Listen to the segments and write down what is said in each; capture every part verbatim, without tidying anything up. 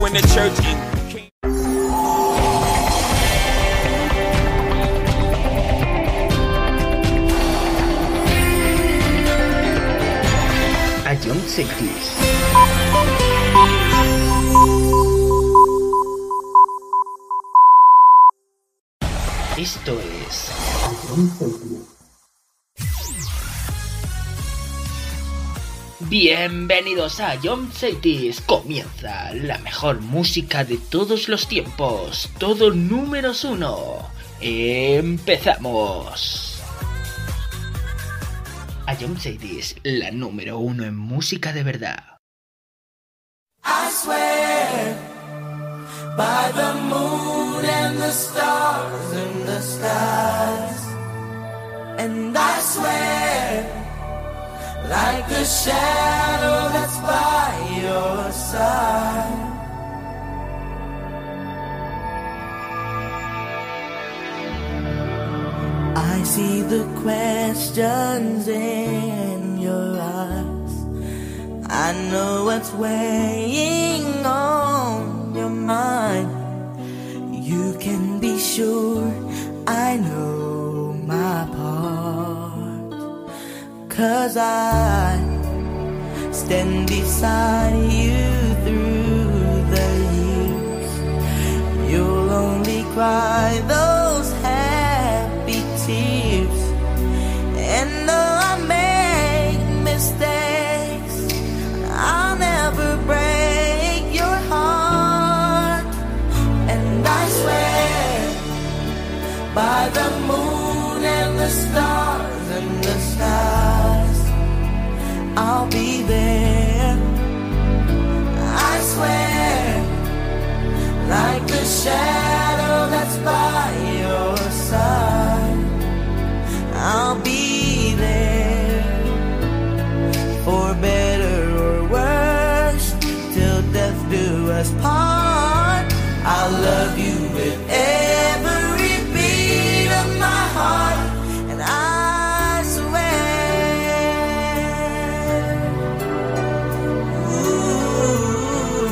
when the church in Ion Cities. Esto es Ion Cities. Bienvenidos a Ion Cities. Comienza la mejor música de todos los tiempos. Todo números uno. Empezamos. Ion Cities, la número uno en música de verdad. I swear by the moon and the stars in the skies, and I swear like a shadow that's by your side. I see the questions in your eyes. I know what's weighing on your mind. You can be sure I know my part, 'cause I stand beside you through the years. You'll only cry those happy tears. And though I make mistakes, I'll never break your heart. And I swear by the moon and the stars and the stars, I'll be there. I swear like the shadow that's by your side, I'll be there. For better or worse, till death do us part. I'll love you with every beat of my heart. And I swear, ooh,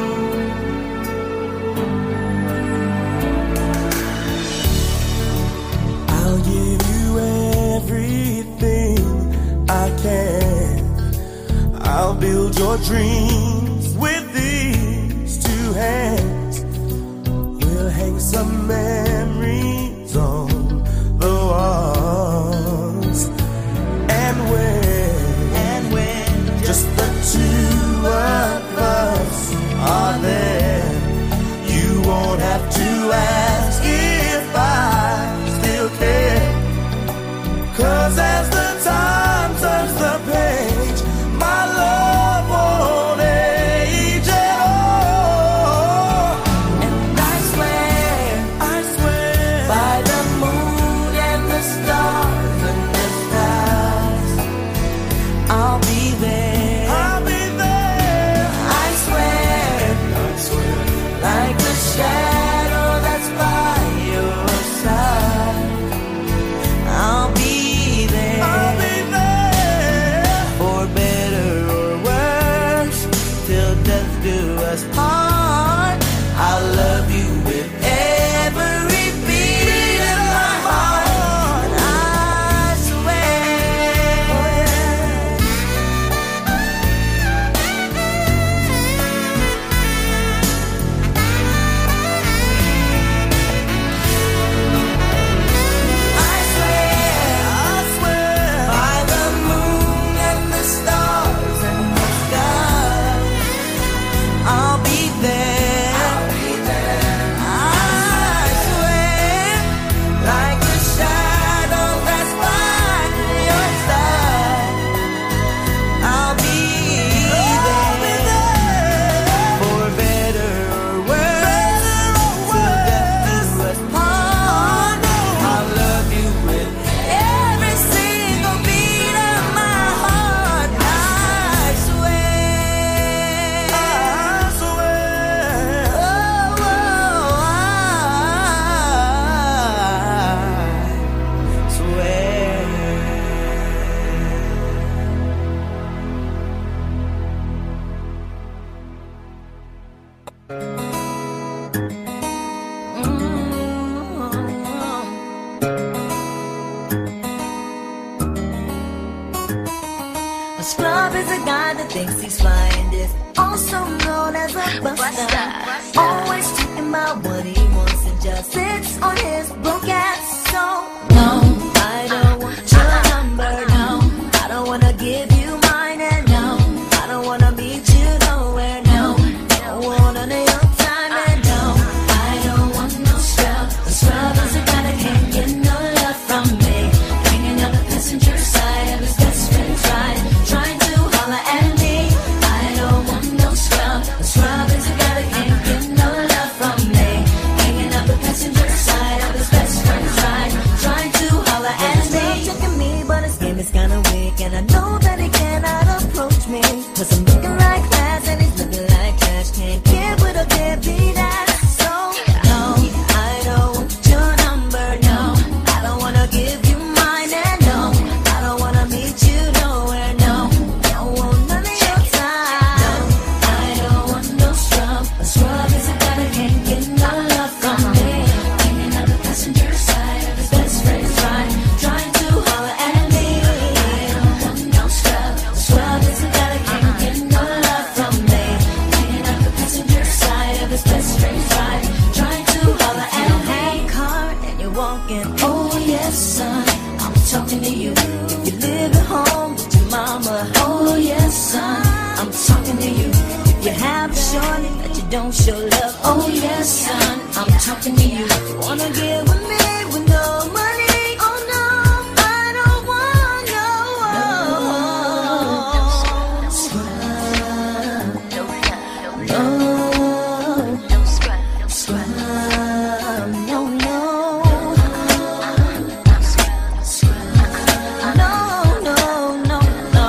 I'll give you everything I can. I'll build your dreams with these two hands. We'll hang some memories on the walls. And when, and when just the two of us are there, you won't have to ask if I still care. 'Cause as the time turns the page, my love won't thinks he's flying this, also known as a buster. Always talking about what he wants and just sits on his broke ass. So no, I don't want your number. No, I don't wanna give you mine. And no, I don't wanna meet you nowhere. No, don't want none of your time. And no, I don't want no scrub. A scrub is a guy that can't get no love from me. Hanging on the passenger side of his best friend's ride, trying to holler at me. I don't want no scrub. A scrub is a guy that can't get no love from me. Hanging up the passenger side of his best friend's ride, trying to holler at me. He's checking me, but his game is kinda weak, and I know that he cannot approach me. Cause I'm looking like class and he's looking like cash. Can't get with a deadbeat ass. So no, I don't want your number. No, I don't wanna give you mine. And no, I don't wanna meet you nowhere. No, don't want none of your time. No, I don't want no scrub. A scrub is a guy that can't get no love from me. Hanging on the passenger side of his best friend's ride, trying to holler at me. I don't want no scrub. A scrub is a guy that can't get no love from me. Hanging on the passenger side of his best friend's ride, trying to holler at me. You have a car and you're walking. Oh yes, son, I'm talking to you. If you live at home with your mama. Oh yes, son, I'm talking to you. If you have a shorty that you don't show love. Oh yes, son, I'm talking to you. You wanna get with me with no money? Oh no, I don't want no scrub. No, no scrub. No, no. No, no, no, no.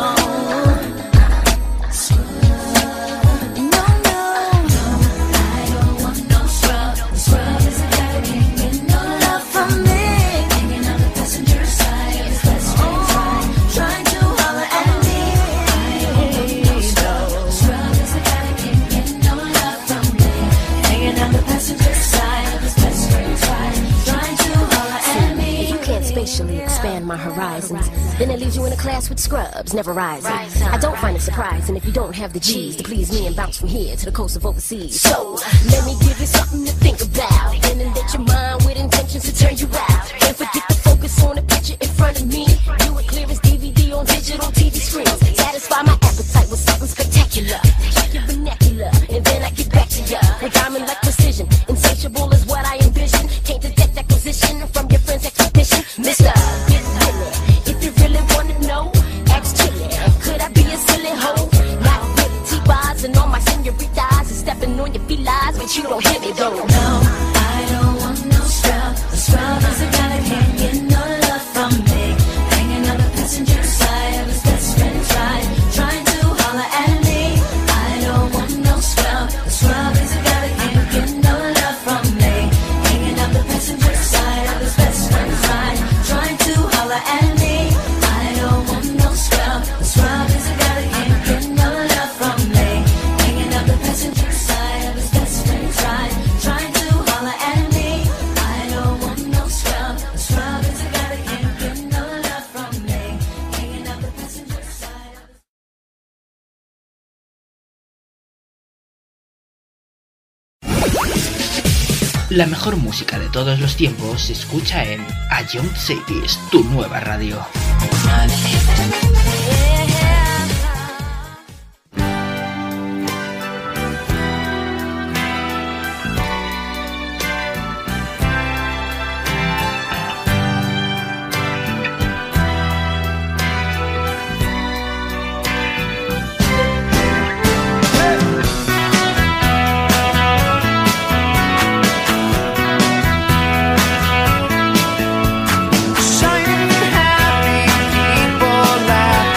No, no. I don't want no scrub. Scrub is a guy that can't get no love from me. Hanging on the passenger side of his best friend's ride, trying to holler at me. No, scrub is a guy that can't get no love from me. Hanging on the passenger side of his best friend's ride, trying to holler at me. If you can't spatially expand my horizons, then it leaves you in a class with scrubs, never rising. I don't find it surprising if you don't have the G's to please me and bounce from here to the coast of overseas. So, let me give you something to think about, and then let your mind with intentions to turn you out. Can't forget to focus on the picture in front of me. Do it clear as D V D on digital T V screens. Satisfy my appetite with something spectacular. Check your vernacular, and then I get back to ya with diamond like precision. Insatiable is what I envision. Can't detect acquisition from your friend's expedition. Mister, get really. If you really wanna know, ask Chili. Could I be a silly hoe? Not really. T-bars and all my senoritas and stepping on your felines, but you don't hit me though. No, I don't want no scrub. A scrub is a guy that can't get no love from me. Hanging on the passenger side of his best friend's ride, trying to holler at me. I don't want no scrub. A scrub is a guy that can't get no love from me. Hanging on the passenger side of his best friend's ride, trying to holler at me. I don't want no scrub. A scrub is a guy that can't get no love from me. Hanging on the passenger side of his best friend's ride, trying to holler at me. I don't want no scrub. A scrub is a guy that can't get no love from me. Hanging on the passenger side of his La mejor música de todos los tiempos se escucha en A Young Cities, tu nueva radio. Shining happy people laugh.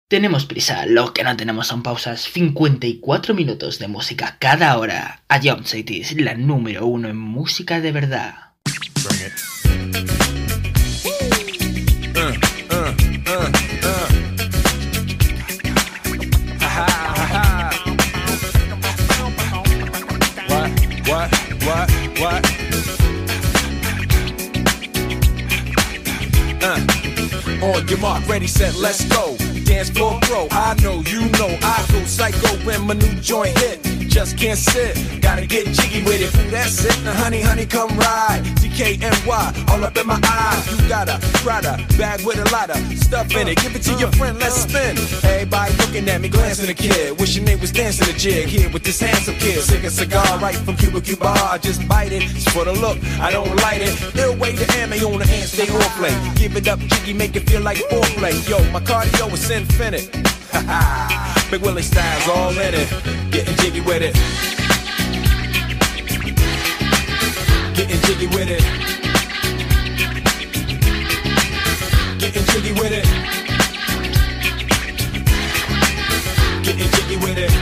Tenemos prisa, lo que no tenemos son pausas. cincuenta y cuatro minutos de música cada hora. A Jump Cities, la número uno en música de verdad. What, what, what? Uh. On your mark, ready, set, let's go. Dance floor pro, I know, you know, I go psycho when my new joint hit. Just can't sit, gotta get jiggy with it. Ooh, that's it, now honey, honey, come ride. D K N Y, all up in my eyes. You got a Prada bag with a lot of stuff in it. Give it to your friend, let's spin. Everybody looking at me, glancing a kid. Wishing they was dancing a jig here with this handsome kid. Sick a cigar right from Cuba Cuba. I just bite it, it's for the look, I don't light it. Ill way to ammo on the hand, stay on play. Give it up, jiggy, make it feel like foreplay. Yo, my cardio is infinite. Big Willie style's all in it. Getting jiggy with it. Getting jiggy with it. Getting jiggy with it. Getting jiggy with it.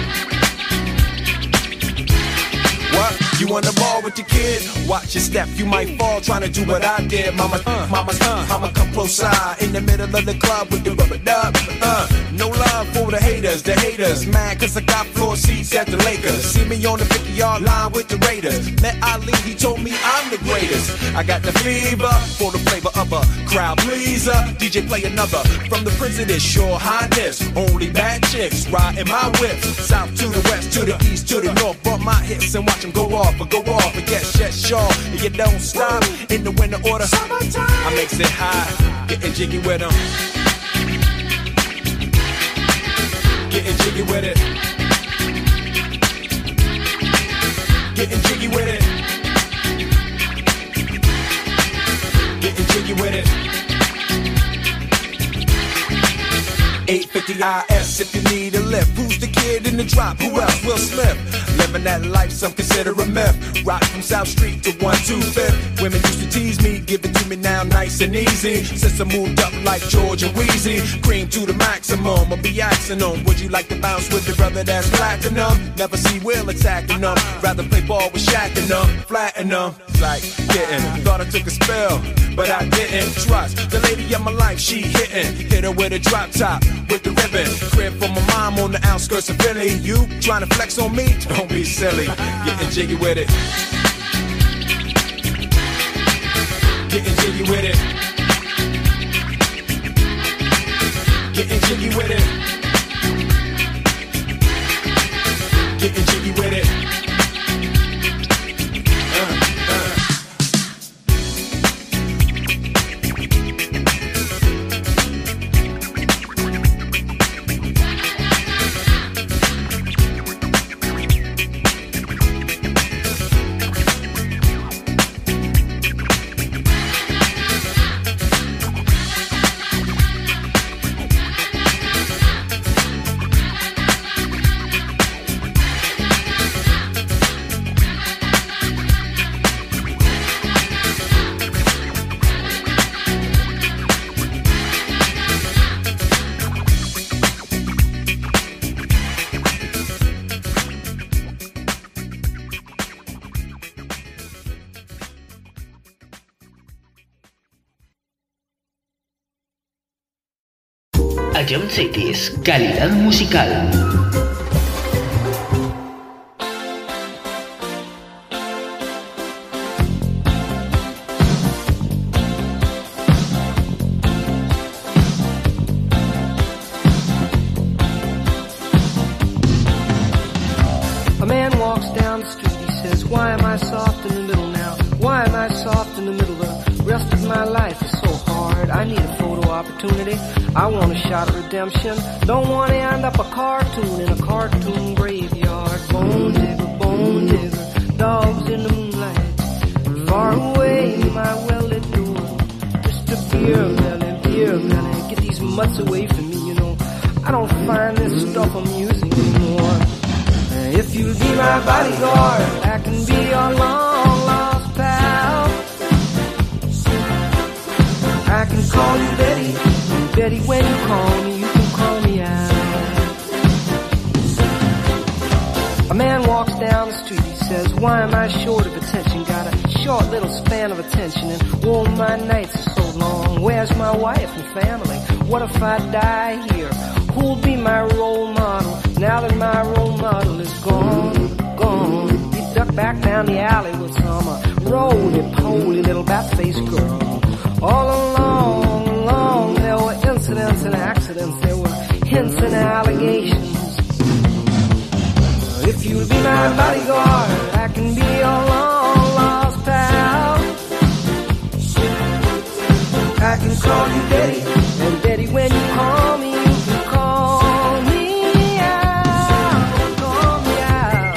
What? You wanna ball with your kid? Watch your step, you might fall trying to do what I did. Mama, uh, mama, uh, mama, come close side in the middle of the club with the rubber dub. Uh, no love for the haters, the haters. Mad cause I got floor seats at the Lakers. See me on the fifty yard line with the Raiders. Met Ali, he told me I'm the greatest. I got the fever for the flavor of a crowd pleaser. D J play another from the Prince of this Sure Highness. Only bad chicks riding my whip. South to the west, to the east, to the north. Bump my hips and watch them go off. But go off and get shut sure and you don't stop in the winter order. I makes it high, getting jiggy with them. Getting jiggy with it. Getting jiggy with it. Getting jiggy with it. eight fifty I S if you need a lift. Who's the kid in the drop? Who else? Will Smith. Living that life some consider a myth. Rock from South Street to one two fifth. Women used to tease me, give it to me now nice and easy. Since I moved up like George and Wheezy, cream to the maximum. I'll be asking them, would you like to bounce with the brother that's platinum? Never see Will attacking them. Rather play ball with Shaq and them, flatten them. Like getting, thought I took a spell, but I didn't trust the lady of my life. She hitting, hit her with a drop top with the ribbon. Crib for my mom on the outskirts of Philly. You trying to flex on me? Don't be silly. Getting jiggy with it. Getting jiggy with it. Getting jiggy with it. Getting jiggy with it. Jump Cities, calidad musical. A man walks down the street, he says, why am I soft in the middle now? Why am I soft in the middle? The rest of my life is so hard. I need a photo opportunity. I want a shot of redemption. Don't want to end up a cartoon in a cartoon graveyard. Bone digger, bone digger, dogs in the moonlight. Far away, my well-lit door. Just a beer melon, beer melon. Get these mutts away from me, you know. I don't find this stuff amusing anymore. If you'll be my bodyguard, I can be your long-lost pal. I can call you Betty, Betty when you call me, you can call me out. man walks down the street, he says, why am I short of attention? Got a short little span of attention, and oh, my nights are so long. Where's my wife and family? What if I die here? Who'll be my role model now that my role model is gone, gone? He ducked back down the alley with some uh, roly-poly little bat-faced girl. All along, along, there were incidents and accidents, there were hints and allegations. If you'll be my bodyguard, I can be your long-lost pal. I can call you Daddy, and Daddy, when you call me, you can call me out, call me out.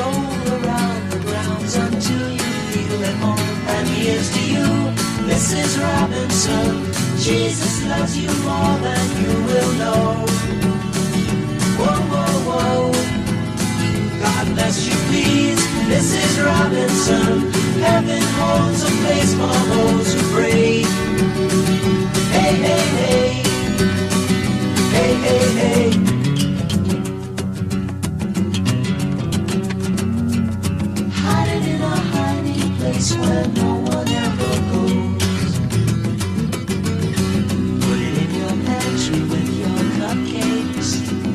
This is Robinson. Jesus loves you more than you will know. Whoa, whoa, whoa. God bless you, please, Missus Robinson. Heaven holds a place for those who pray. Hey, hey, hey. Hey, hey, hey. Hiding in a hiding place where no one ever goes. Put it in your pantry with your cupcakes.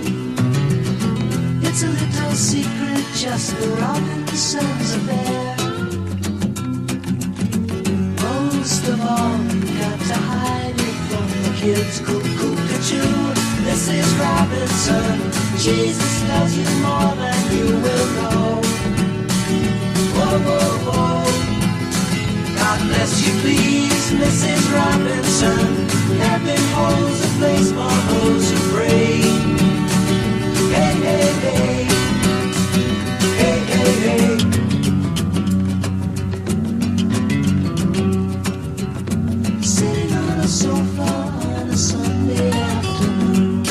It's a little secret, just the Robinsons affair. Most of all, you got to hide it from the kids. Cuckoo-cuckoo, Missus Robinson. Jesus loves you more than you will know. Whoa, whoa, whoa. God bless you, please, Missus Robinson. Heaven holds a place for those who pray. Hey, hey, hey. Hey, hey, hey. Sitting on a sofa on a Sunday afternoon,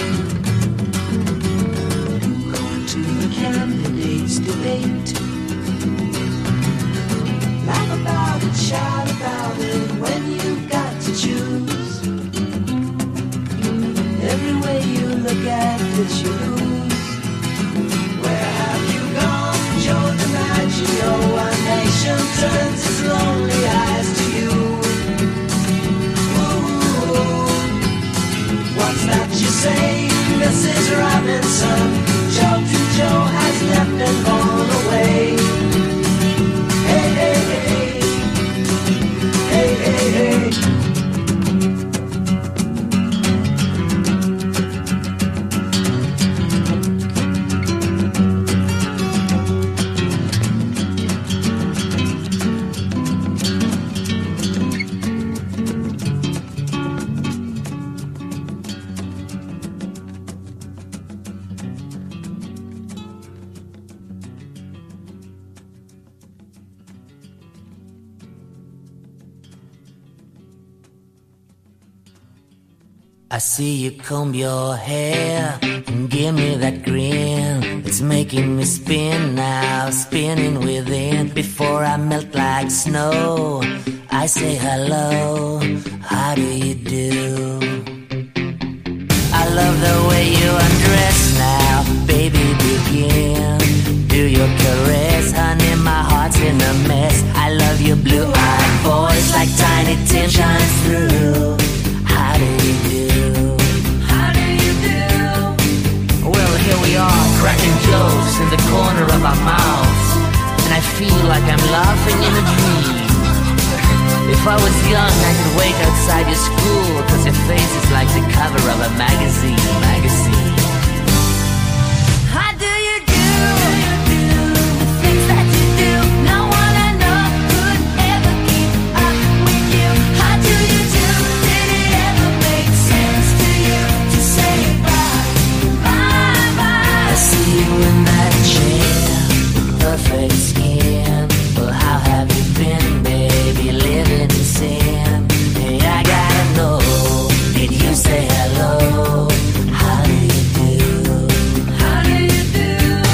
going to the candidates' debate. Laugh about it, shout about it when you've got to choose. Every way you look at it, you lose. Where have you gone, Joe DiMaggio? Our nation turns its lonely eyes to you. Ooh, what's that you say, Missus Robinson? Joe to Joe has left and gone away. Hey, hey, hey. Hey, hey, hey. I see you comb your hair and give me that grin. It's making me spin now, spinning within. Before I melt like snow, I say hello, how do you do? I love the way you undress now, baby, begin. Do your caress, honey, my heart's in a mess. I love your blue-eyed voice like tiny tin shines through. How do you do? How do you do? Well, here we are, cracking jokes in the corner of our mouths, and I feel like I'm laughing in a dream. If I was young, I could wait outside your school, cause your face is like the cover of a magazine, magazine. How do you do? The things that you do, no one I know could ever keep up with you. How do you do? Did it ever make sense to you to say bye, bye, bye? I see you in that chair, perfect skin. Well, how have you been, baby, living in sin? Hey, I gotta know, did you say hello? How do you do? How do you do?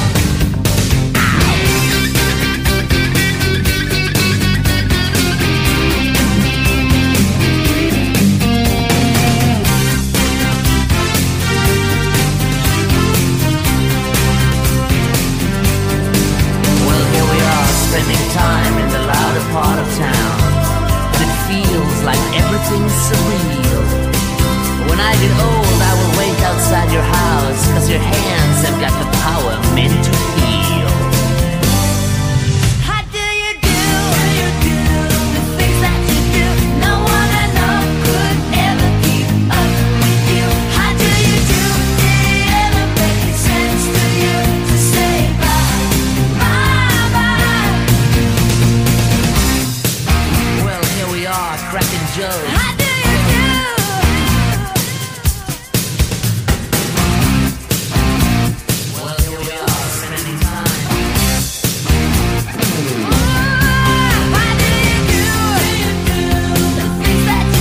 Well, here we are, spending time in the louder part of town, and it feels like everything's surreal. When I get old, I will wait outside your house, cause your hands have got the power meant to heal. How do you do? The things that you do, no one I know could ever keep up with you. How do you do? Did it ever make sense to you to say bye, bye, bye? Well, here we are, cracking jokes. How do you do? Well, here we are, spending time. How do you do? The things that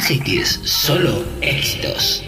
Cities, solo éxitos.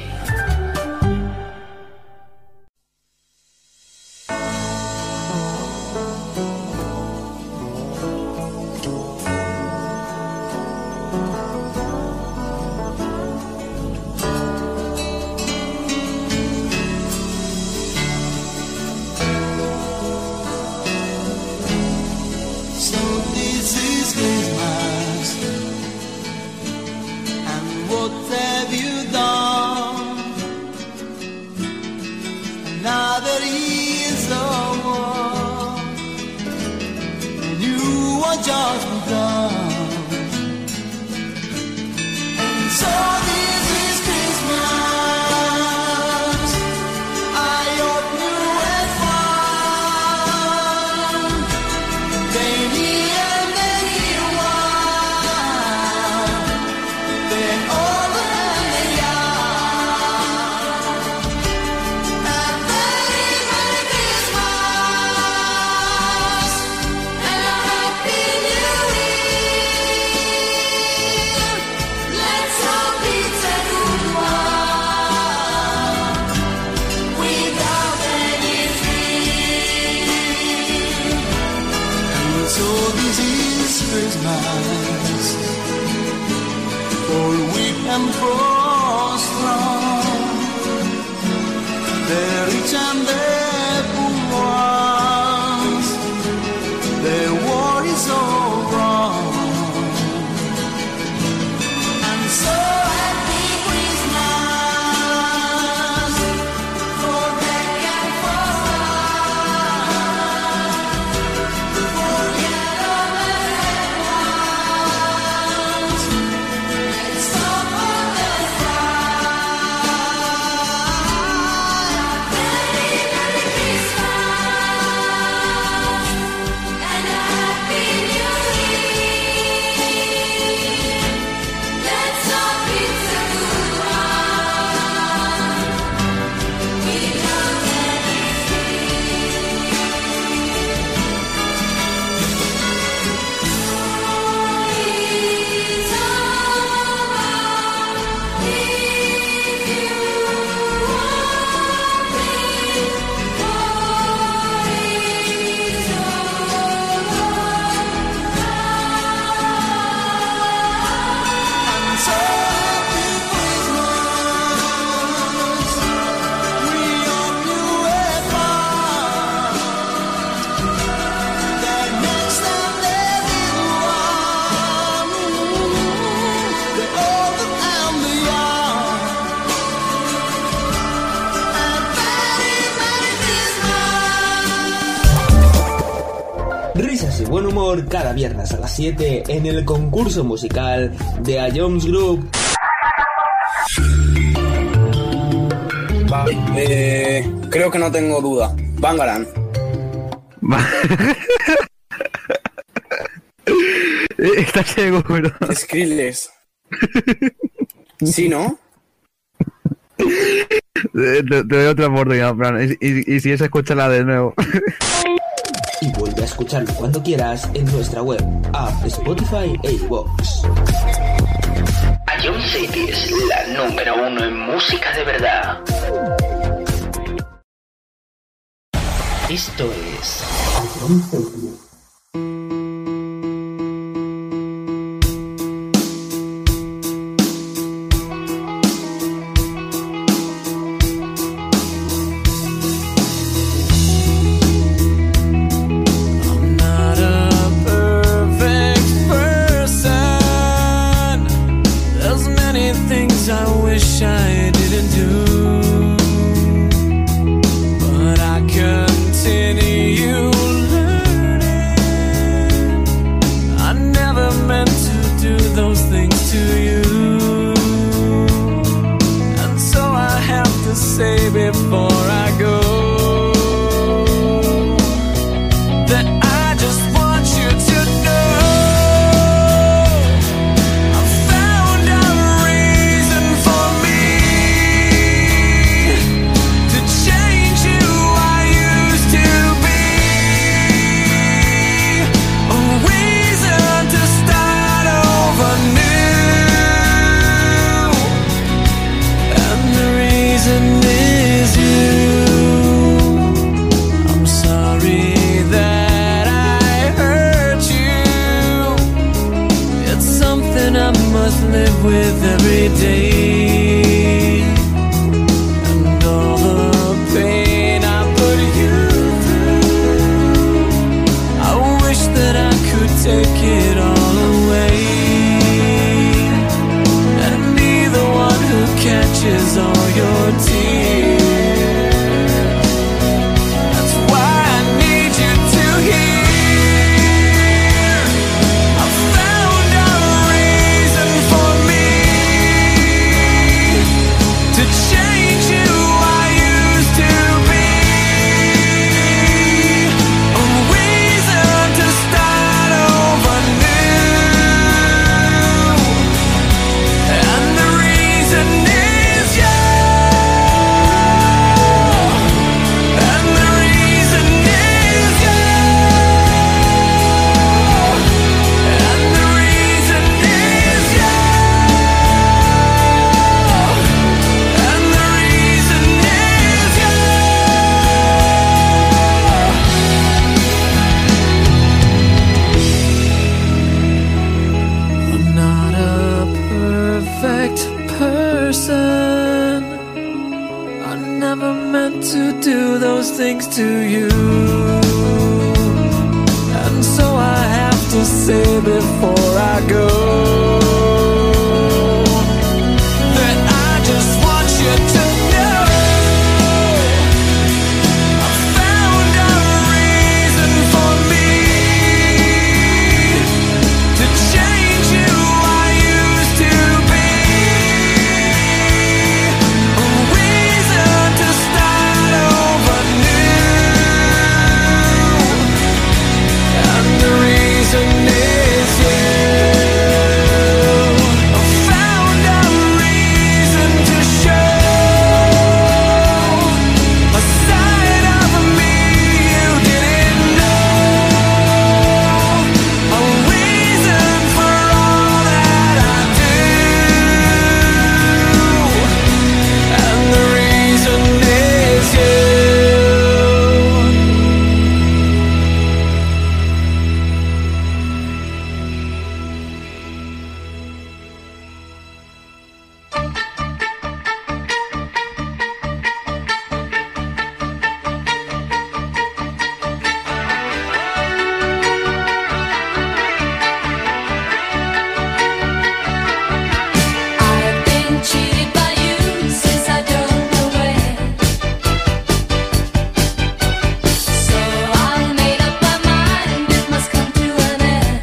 Buen humor cada viernes a las siete en el concurso musical de A Jones Group. Vale, eh, creo que no tengo duda. Bangarang. ¿Estás seguro? Skrillex. ¿Sí, no? Te, te doy otra oportunidad, Fran. Y, y, y si es, escúchala de nuevo. Y vuelve a escucharlo cuando quieras en nuestra web, app, Spotify e iVoox. A Jones Cities, la número uno en música de verdad. Esto es A Jones Cities. listen. I never meant to do those things to you. And so I have to say before I go that I just want you to know I found a reason for me to change you I used to be. A reason to start over new. And the reason is you. I found a reason to show a side of me you didn't know. A reason for all that I do. And the reason is you. I've been cheated by you since I don't know when. So I made up my mind it must come to an end.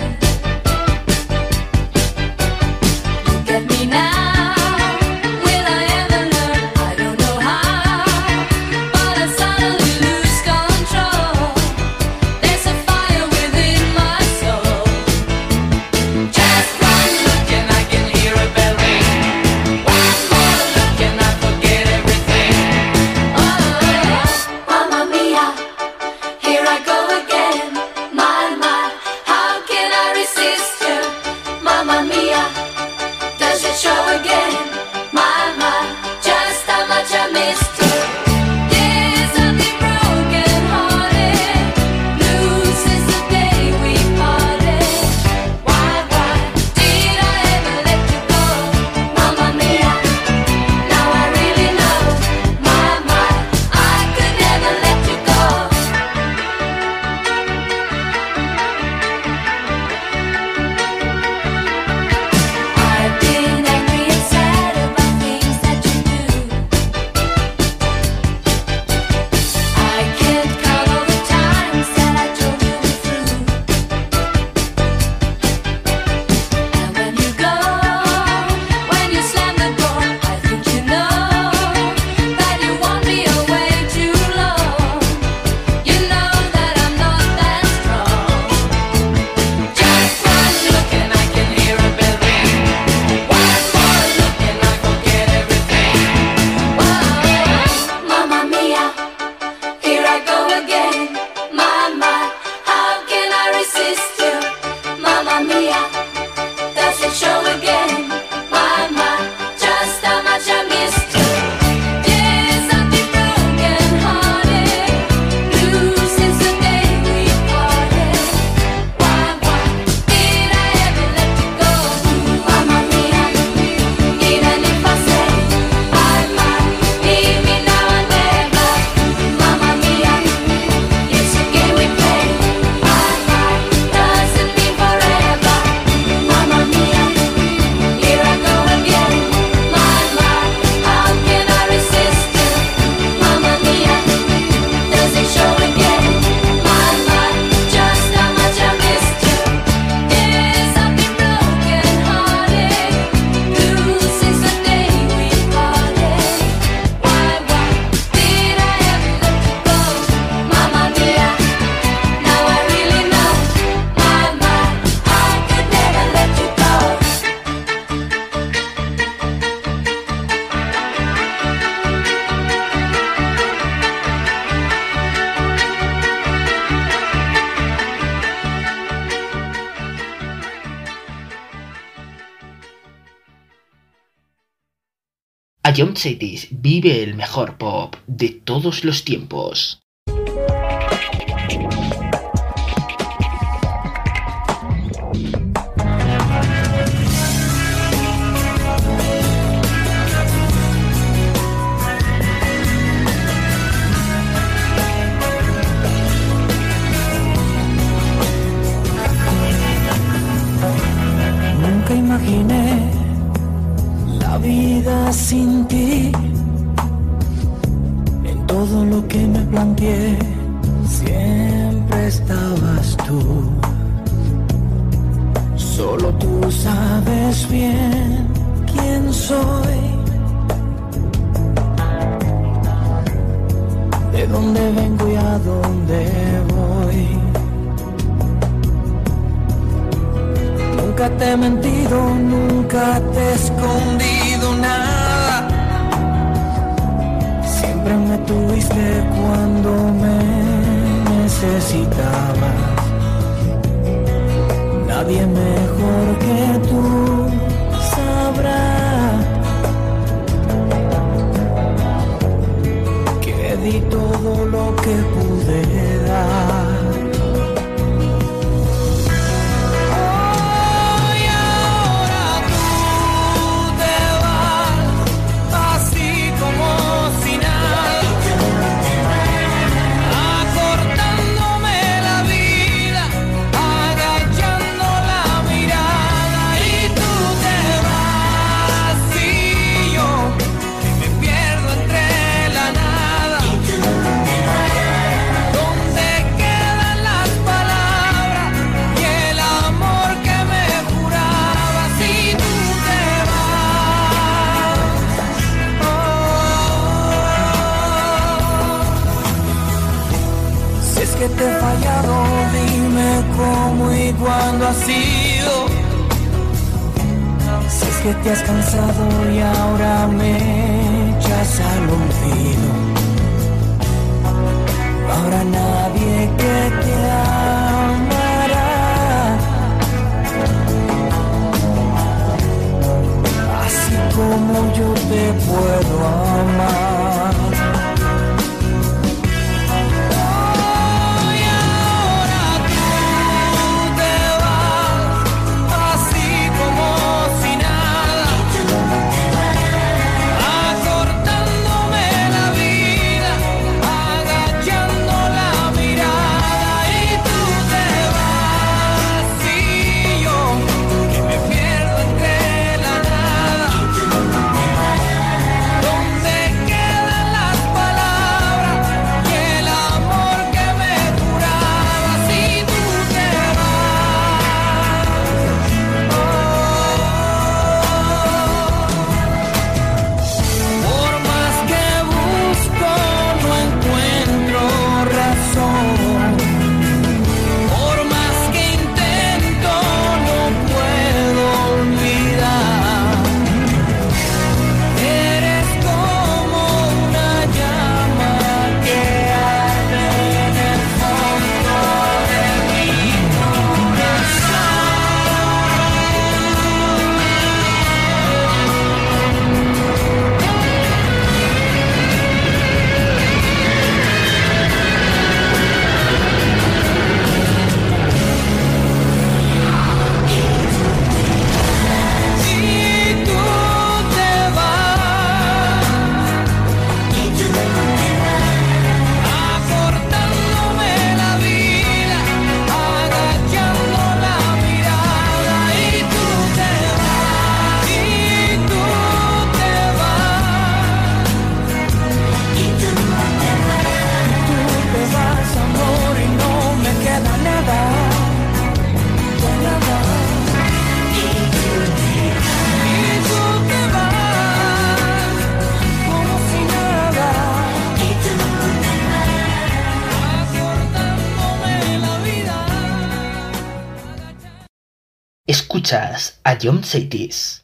Look at me now, will I ever learn? I don't know how, but I suddenly lose control. There's a fire within my soul. Just one look and I can hear a bell ring. One more look and I forget everything. Oh, Mamma Mia, here I go again. My, my, how can I resist you? Mamma Mia, does it show again? My, my, just how much I missed you. Yes, I've been broken hearted, blue since the day we parted. Why, why did I ever let you go? Mamma Mia, now I really know. My, my, I could never let you go. I've been angry and sad about things that you do. I can't count all the times that I told you we're through. And when you go, when you slam the door, I think you know that you want me away too long. You know that I'm not that strong. Just one look and I can hear a bell ring. One more look and I forget everything. Whoa, Mamma Mia, here I go again. My, my, how can I resist you? Mamma Mia, does it show again? My, my, just how much I missed you. Yes, I've been broken hearted, blue since the day we parted. Why, why did I ever let you go? Mamma Mia, even if I say I might leave me now and never. Mamma Mia, it's a game we play. My, my, doesn't mean forever. Mamma Mia, here I go again. My, my, how can I resist you? Mamma Mia, does it show again? My, my, just how much I missed you. Yes, I've been broken hearted, blue since the day we parted. Why, why did I ever let you go? Mamma Mia, now I really know. My, my, I could never let you go. Ion Cities vive el mejor pop de todos los tiempos. lo que me planteé, siempre estabas tú. Solo tú sabes bien quién soy, de dónde vengo y a dónde voy. Nunca te he mentido, nunca te he escondido nada. Siempre me tuviste cuando me necesitabas. Nadie mejor que tú sabrá que di todo lo que pude dar. Que te he fallado, dime cómo y cuándo ha sido. Si es que te has cansado y ahora me echas al olvido. No habrá nadie que te amará así como yo te puedo amar. Escuchas a John Saitis.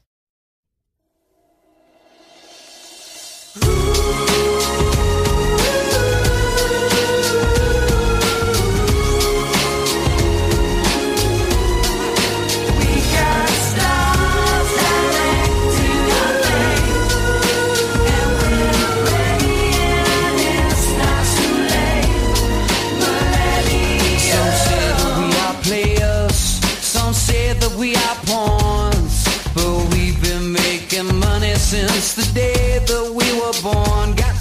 Since the day that we were born, got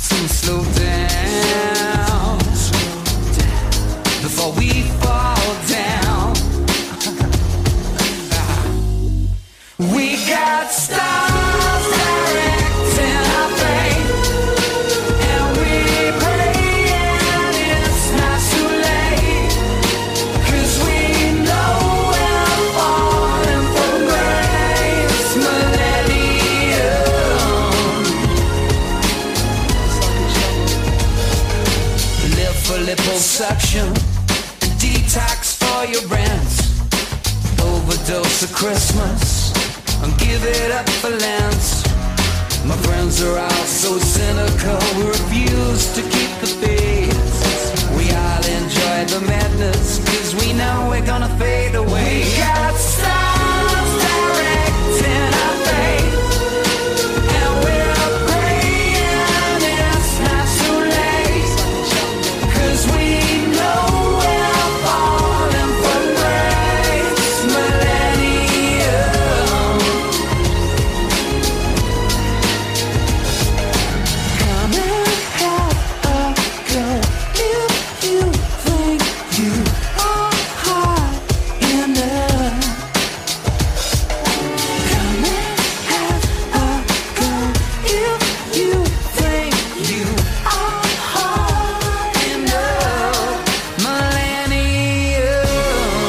liposuction, detox for your rent, overdose of Christmas, and give it up for Lent. My friends are all so cynical, we refuse to keep the faith. We all enjoy the madness, cause we know we're gonna fade away. We got stars directing our fate, and we're praying it's not too late, cause we know we're falling from grace. Millennium, come and have a go if you think you are hot enough. Come and have a go if you think you are hot enough. Millennium,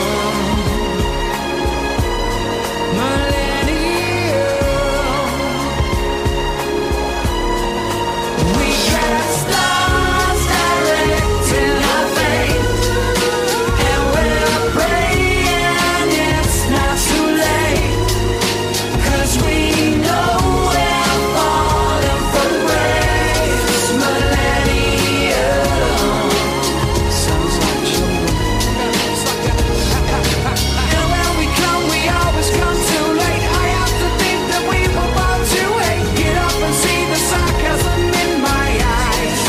millennium. We got stars directing our fate, and we're praying it's not too late, cause we know we're falling from grace. Millennium, sounds like children. And when we come, we always come too late. I have to think that we were born to hate. Get up and see the sarcasm in my eyes.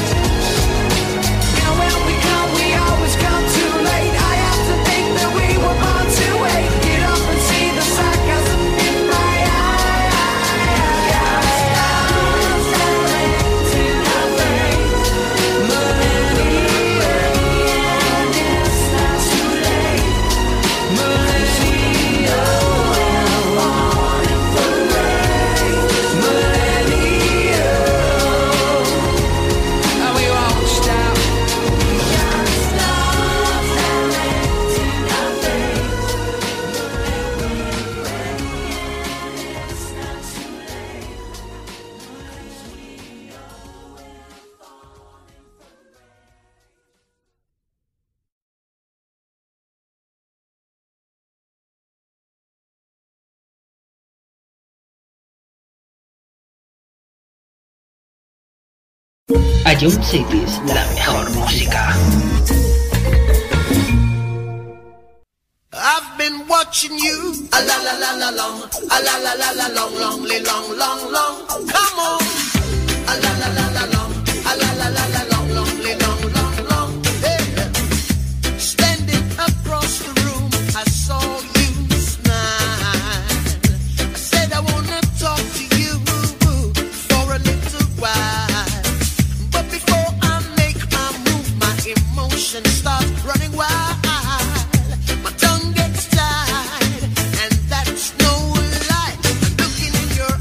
And when we come, we always come too late. I have to think that we were born to hate. Get up and see the sarcasm in my eyes. Stars directing our fate. Millennium, it's not too late. Millennium, we're falling from grace. Millennium, and we won't stop. Stars directing our fate. It's not too late. Ion Cities, la mejor música. I've been watching you, a la la la la long, a la la la la long, long, li- long, long, long. Come on, a la la la la long, a la la la la long, long, li- long, long, long. Hey, standing across the room, I saw you smile. I said I wanna talk to you for a little while, but before I make my move, my emotions start running wild. My tongue gets tied, and that's no lie. I'm looking in your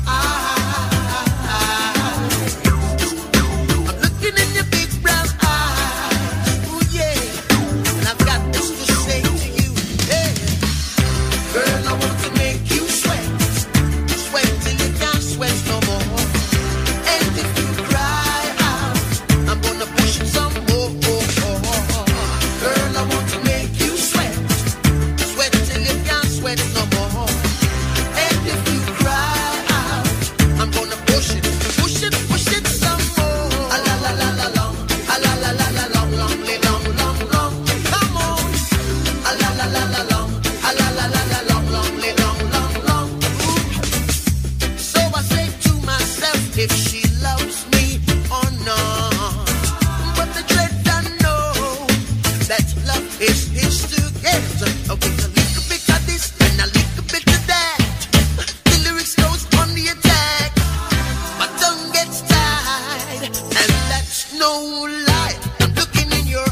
eyes. I'm looking in your big brown eyes. Ooh, yeah. And I've got this to say to you. Hey, girl, I want to make you sweat. Sweat till you can't sweat no more. And if you cry out, I'm gonna push it some more. Girl, I want to make you sweat. Sweat till you can't sweat no more. And if you cry out, I'm gonna push it, push it, push it some more. A la la la la long, a la la la la long, long, li- long, long, long. Come on. A la la la la long, a la la la la long, long, li- long, long, long. Ooh. So I say to myself, if she loves me or not. But the dread I know that love is his to get. Okay, a little bit of this and a little bit of that. The lyrics goes on the attack. My tongue gets tied, and that's no lie. I'm looking in your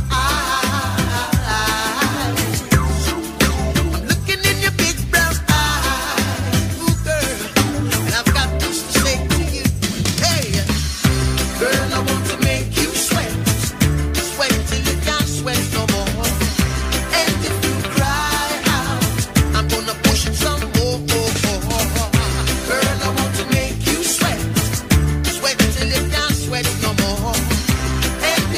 eyes. I'm looking in your big brown eyes. Ooh, girl, and I've got this to say to you. Hey, girl, I want to make you sweat. Sweat till you can't sweat no more. And if you cry out, I'm gonna push it some more. Girl, I want to make you sweat. Sweat till you can't sweat no more. And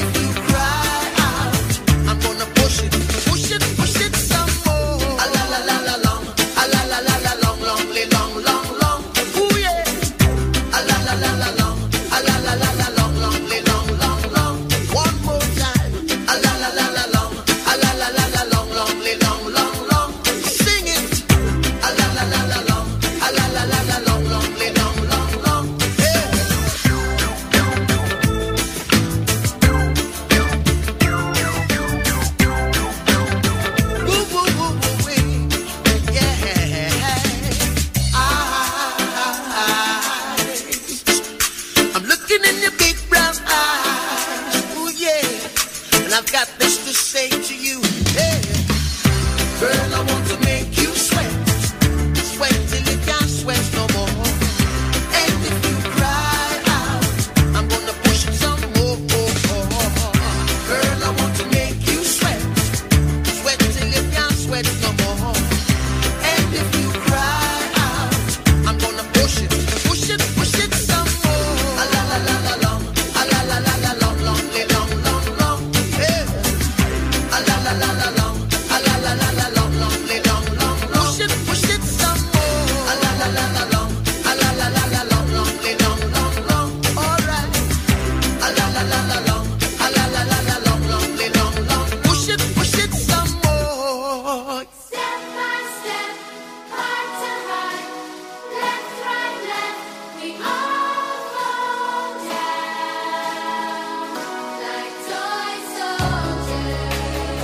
looking in your big brown eyes. Oh yeah, and I've got this to say to you. Hey, girl, I want to make you sweat, sweat till you can't sweat no more. And if you cry out, I'm gonna push it some more. Girl, I want to make you sweat, sweat till you can't sweat no more. And if you cry out, I'm gonna push it, push it, push it some more. A la la la la long, a la la la la long, long, long, long, long, yeah. A la la la la long, a la la la la long, long, long, long, long. Push it, push it some more. A la la la la long, a la la la la long, long, long, long, long. All right. A la la la la long, a la la la la long, long, long, long. Push it, push it some more. Step by step, heart to heart, left, right, left, we all fall down like toy soldiers.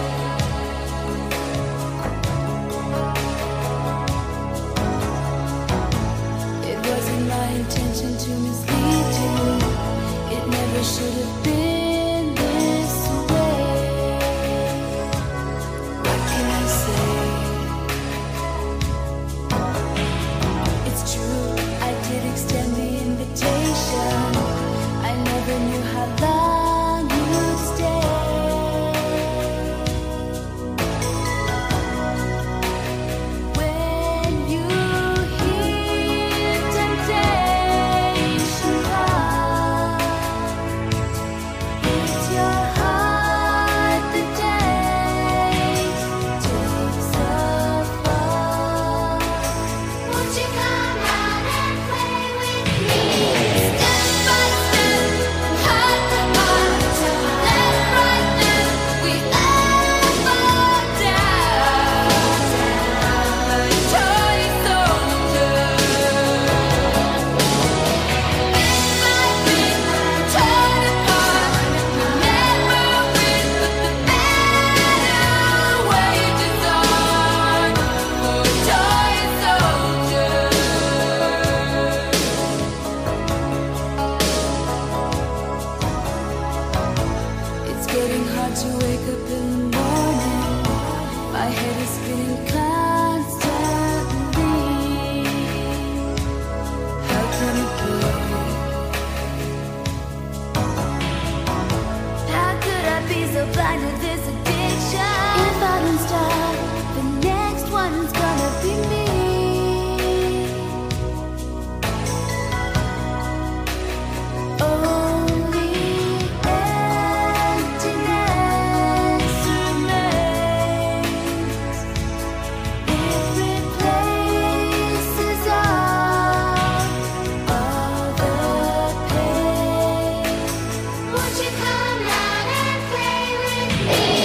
It wasn't my intention to mislead you. It never should have been this way. What can I say? It's true, I did extend the invitation. I never knew how long you'd stay. When you hear temptation come, it's your heart that takes, takes a fall. Won't you come out and play with me? Step by step, heart to heart, left, right, left, we all fall down like toy soldiers. Bit by bit, torn apart, never win, but the battle wages on for toy soldiers. It's getting hard to wake up in the morning. My head is spinning constantly. How can it be? How could I be so blind to this addiction? If I don't stop, the next one's gonna be me. Only emptiness remains. It replaces all, all the pain. Won't you come out and play with me?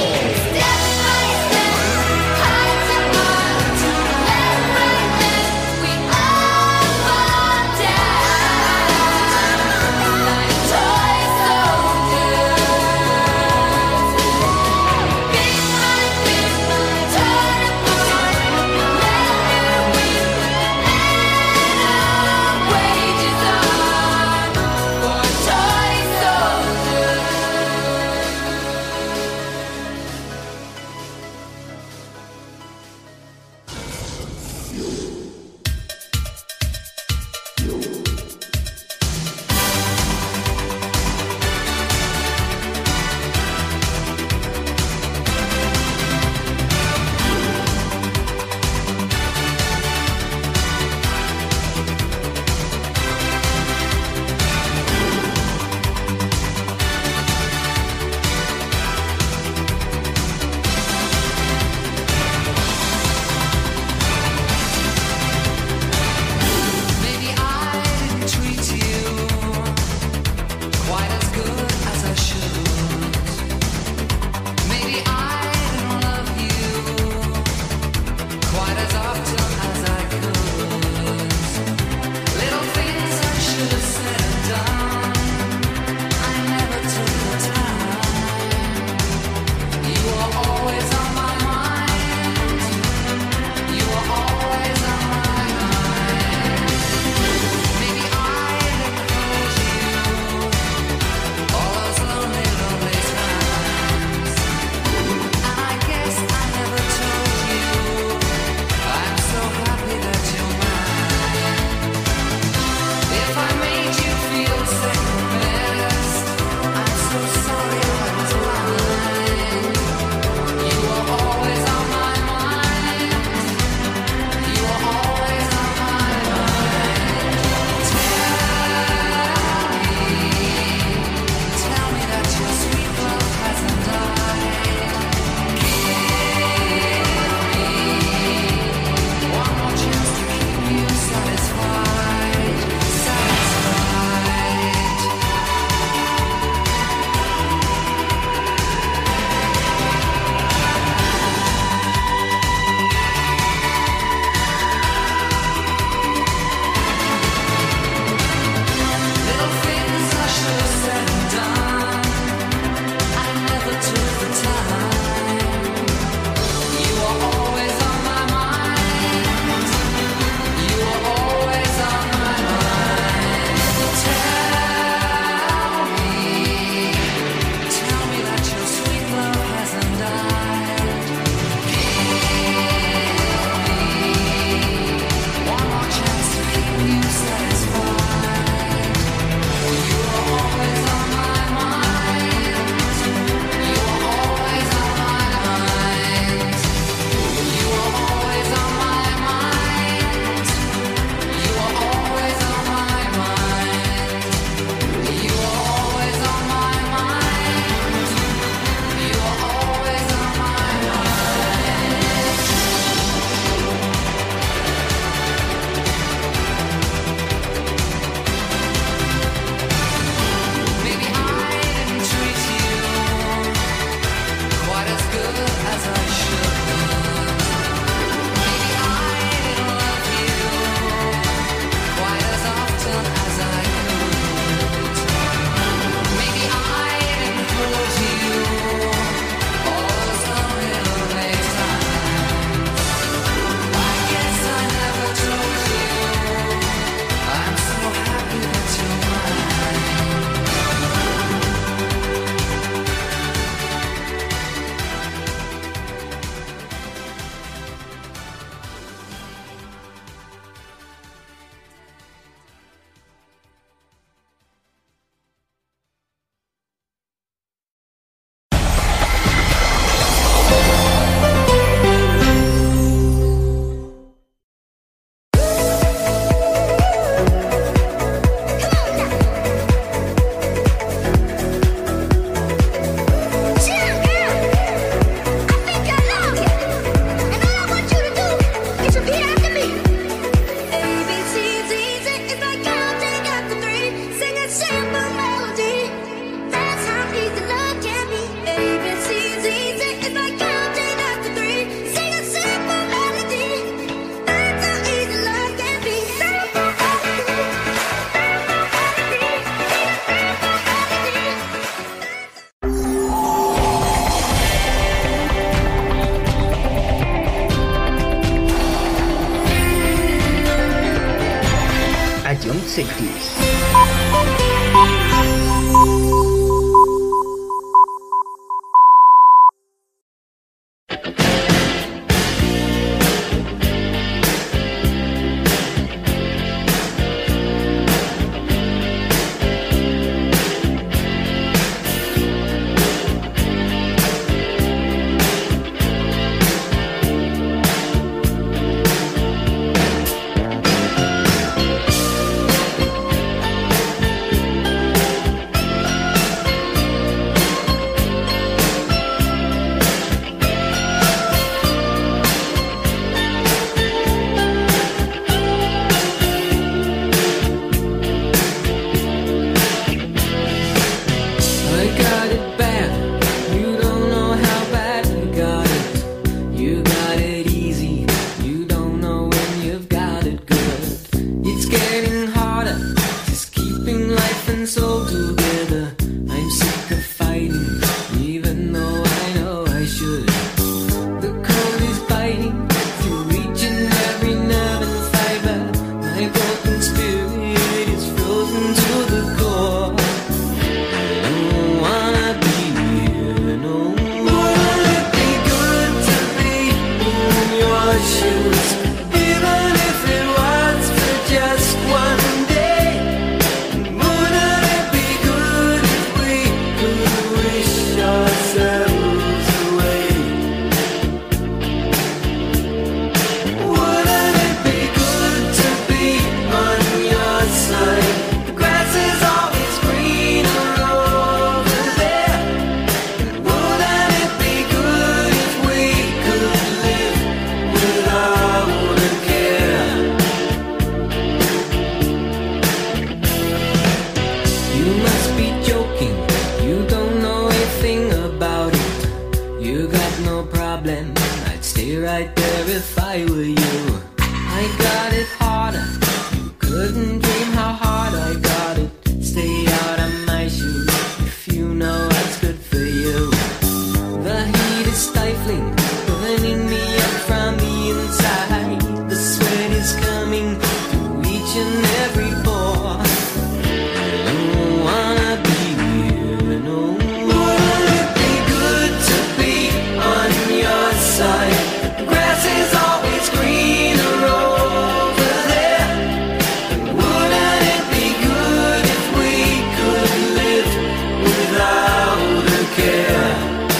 right there if I were you. I got it harder, couldn't dream how hard I got it. Stay out of my shoes if you know what's good for you. The heat is stifling, burning me up from the inside. The sweat is coming through each and every pore. I don't wanna be here no more. Wouldn't it be good to be on your side? The grass is always greener over there. Wouldn't it be good if we could live without a care?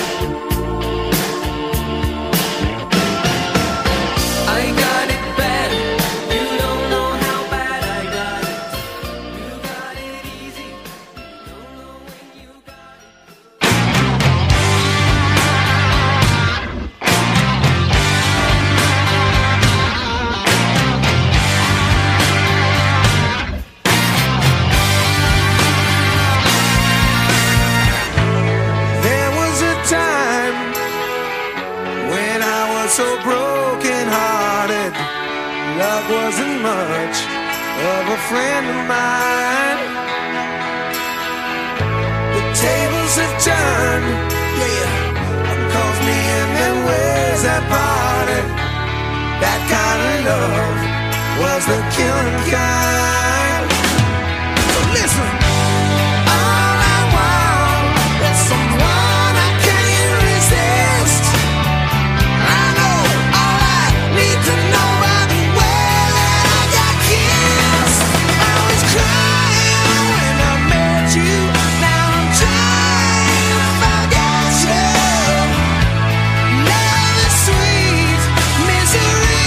I got it bad, you don't know how bad I got it. You got it easy, don't know when you got it. There was a time when I was so broken hearted. Love wasn't much of a friend of mine. The tables have turned, yeah. One calls me in their ways that parted. That kind of love was the killing kind. So listen. All I want is someone I can't resist. I know all I need to know by the way that I got kissed. I was crying when I met you. Now I'm trying to forget you. Love is sweet misery.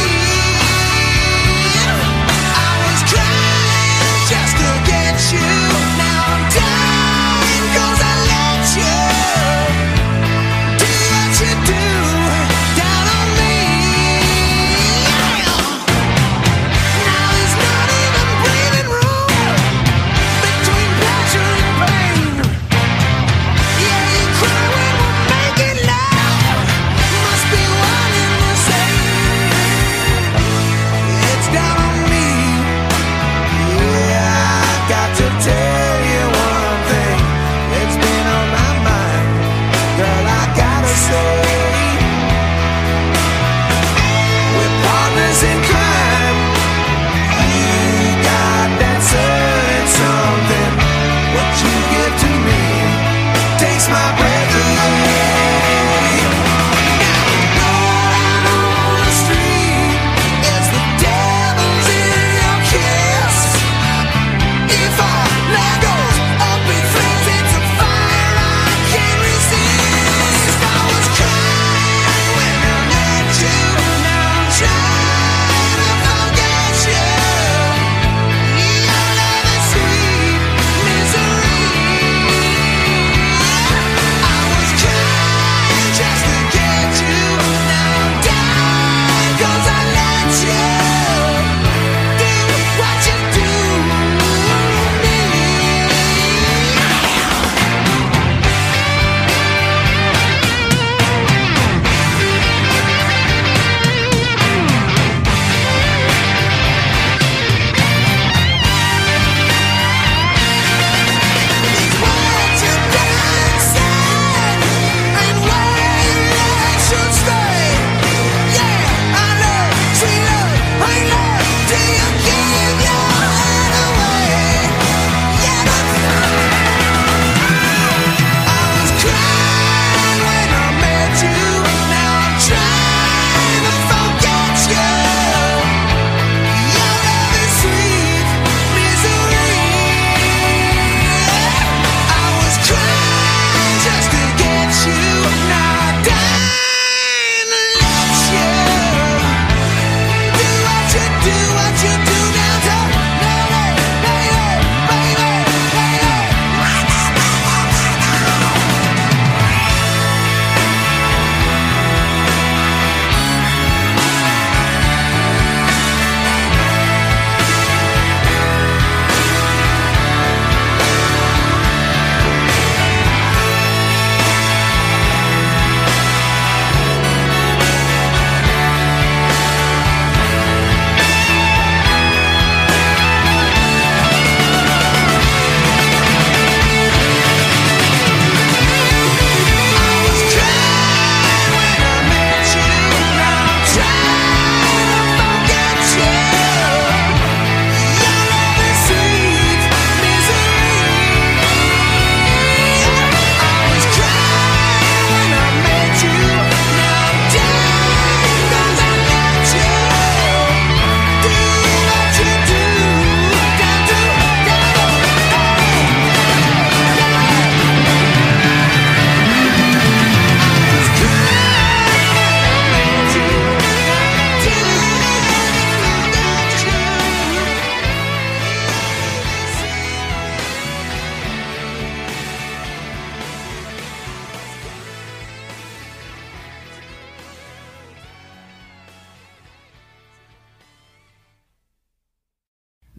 I was crying just to get you. Now I'm dying 'cause I let you do what you do down on me. Now there's not even breathing room between pleasure and pain. Yeah, you cry when we're making love. Must be one and the same. It's down on me. Yeah, I got to tell you one thing. It's been on my mind. Girl, I gotta say, we're partners in crime. You got that certain something. What you give to me takes my breath away. Going on the street is the devil's in your kiss. If our love goes up in flames, it's a fire I can't resist. I was crying when I met you. Now I'm trying to forget you. Your love is sweet misery. I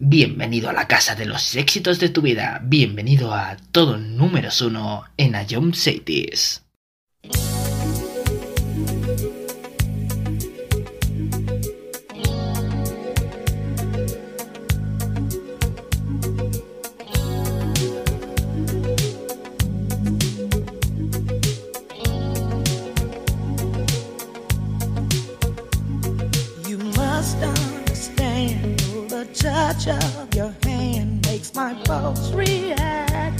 Bienvenido a la casa de los éxitos de tu vida. Bienvenido a todo números uno en Ion Cities. You must understand the touch of your hand makes my pulse react.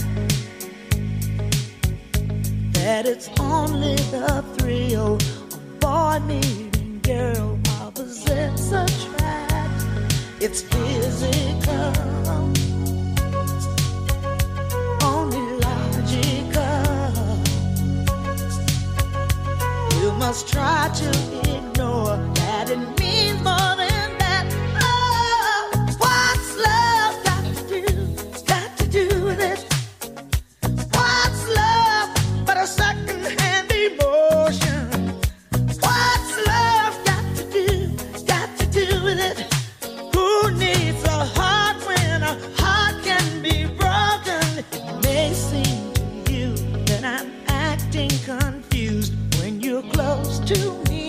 That it's only the thrill of boy meeting girl opposites attract. It's physical, only logical. You must try to ignore that it means more than that. Oh, what's love got to do? Got to do with it. What's love but a second-hand emotion? What's love got to do? Got to do with it. Who needs a heart when a heart can be broken? It may seem to you that I'm acting confused when you're close to me.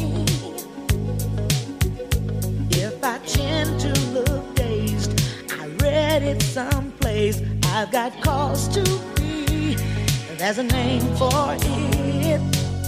If I tend to look dazed, I read it someplace. I've got cause to be. There's a name for it.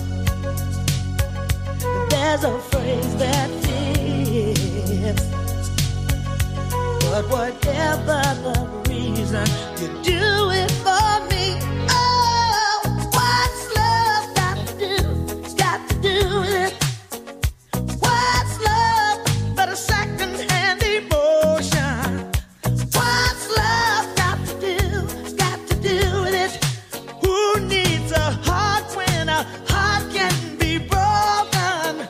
There's a phrase that fits. But whatever the reason, you do it for me. Oh, what's love got to do? Got to do with it. What's love but a second-hand emotion? What's love got to do? Got to do with it. Who needs a heart when a heart can be broken?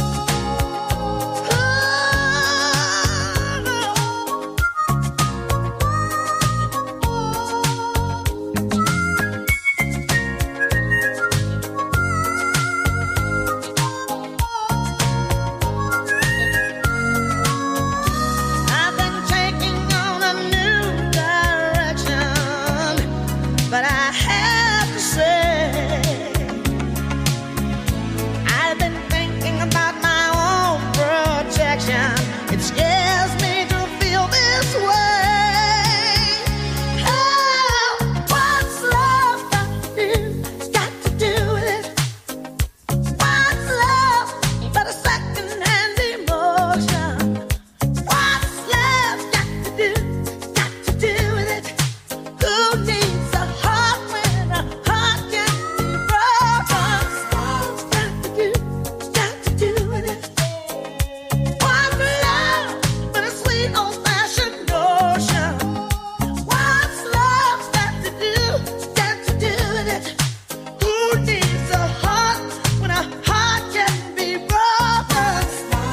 I've been taking on a new direction, but I have to say, I've been thinking about my own protection. It scares me to feel this way. Oh, what's love got to do? Got to do with it. What's love but a second-hand emotion? What's love got to do? Got to do with it. Who needs a heart when a heart can be broken? What's got to do? Got to do with it. What's love but a sweet old-fashioned notion? What's love got to do? Got to do with it. Who needs a heart when a heart can be broken?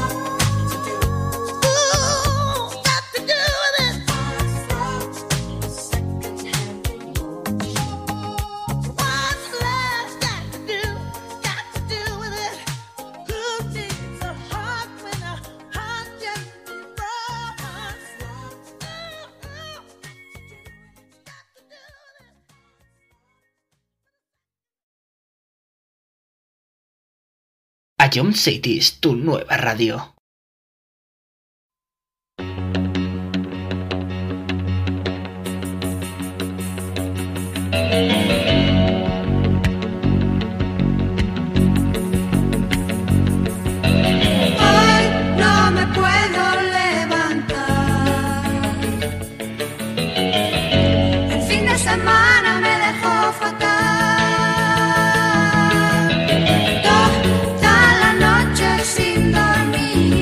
Ooh, got to do with it. What's love got to do? Got to do with it. Who needs a heart when a heart can be broken? Ion Cities, tu nueva radio. Hoy no me puedo levantar. El fin de semana me dejó fatal. Toda la noche sin dormir.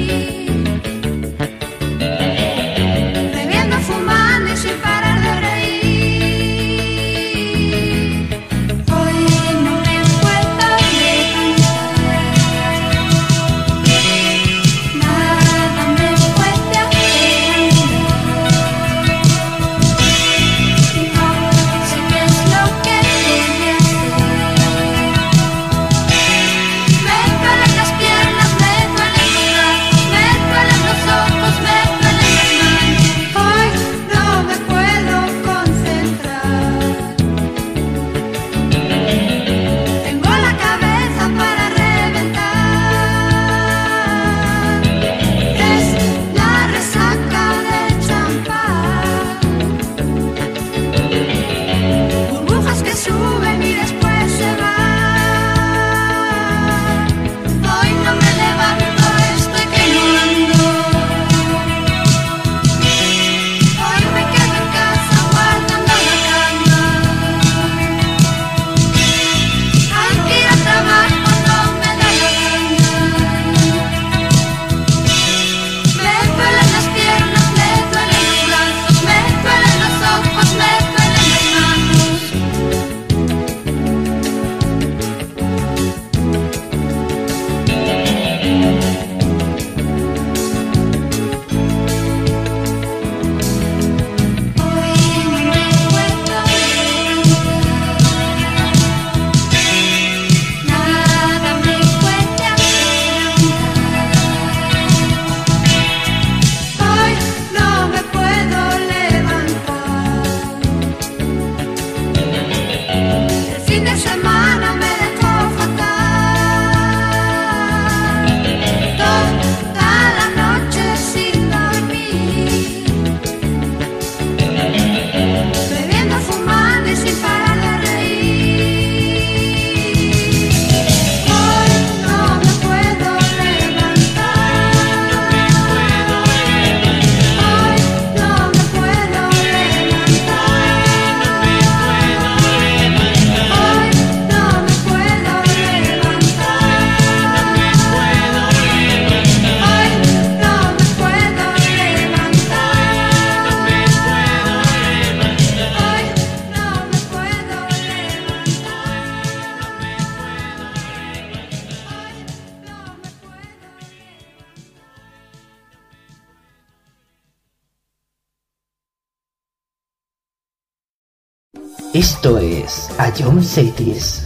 Esto es A John Cities.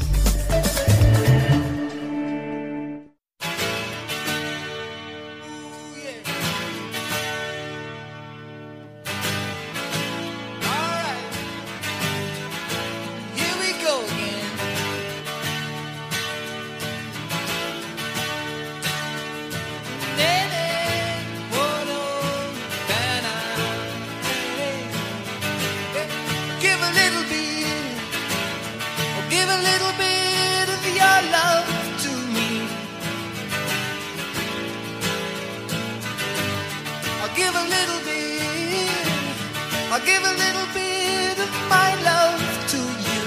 Here we go again. Nene, oh no, Dana, give a little bit, oh, give a little bit of your love to me. I'll give a little bit, I'll give a little bit of my love to you.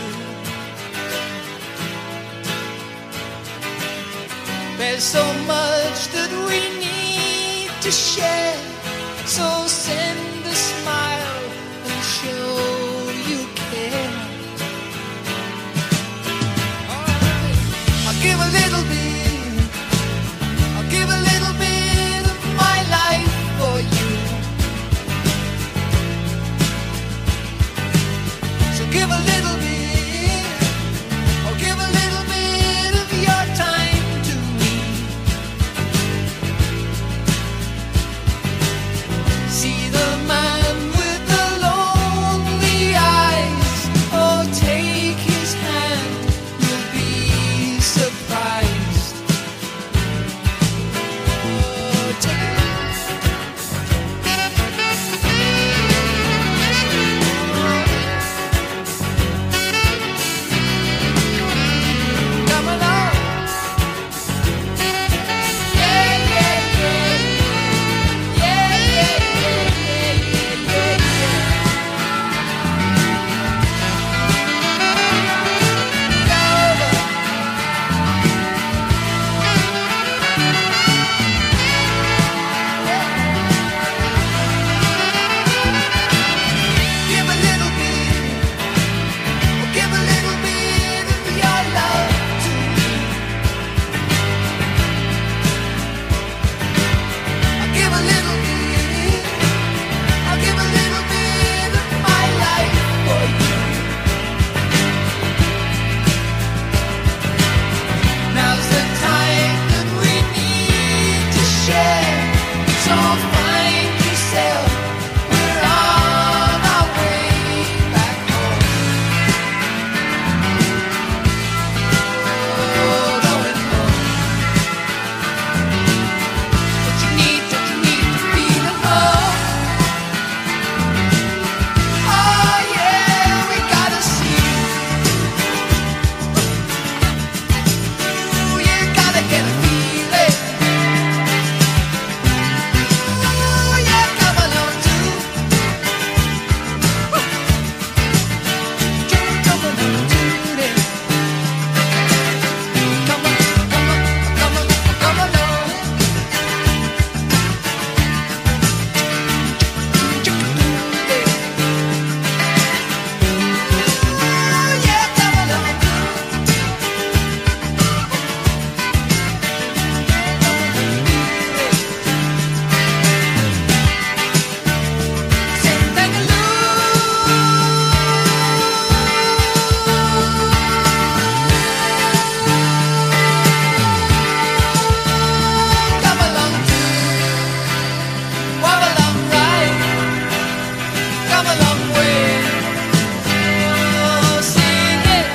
There's so much that we need to share, so send a smile and show you care. Alright. I'll give a little bit, I'll give a little bit of my life for you. So give a little bit, or give a little bit of your time to me. See the man with the lonely eyes, oh take his hand, you'll be surprised. Oh, take Come along. Yeah, yeah, yeah. Yeah, yeah, yeah, yeah, yeah, Give a little bit, oh, give a little bit of your love to me. I'll give a little bit, I'll give a little bit of my life for you. Now's the time that we need to share, so find yourself, we're on our way back home. Oh, going home. Don't you need, don't you need to feel alone? Oh yeah, we gotta see. Ooh, you gotta get a feeling. Ooh, yeah, come along too. Woo. Come along too, then. Come on, come on, come on, come along. Ooh, yeah, come along too. Come along too. Walk along right. Come a long way. Oh, sing it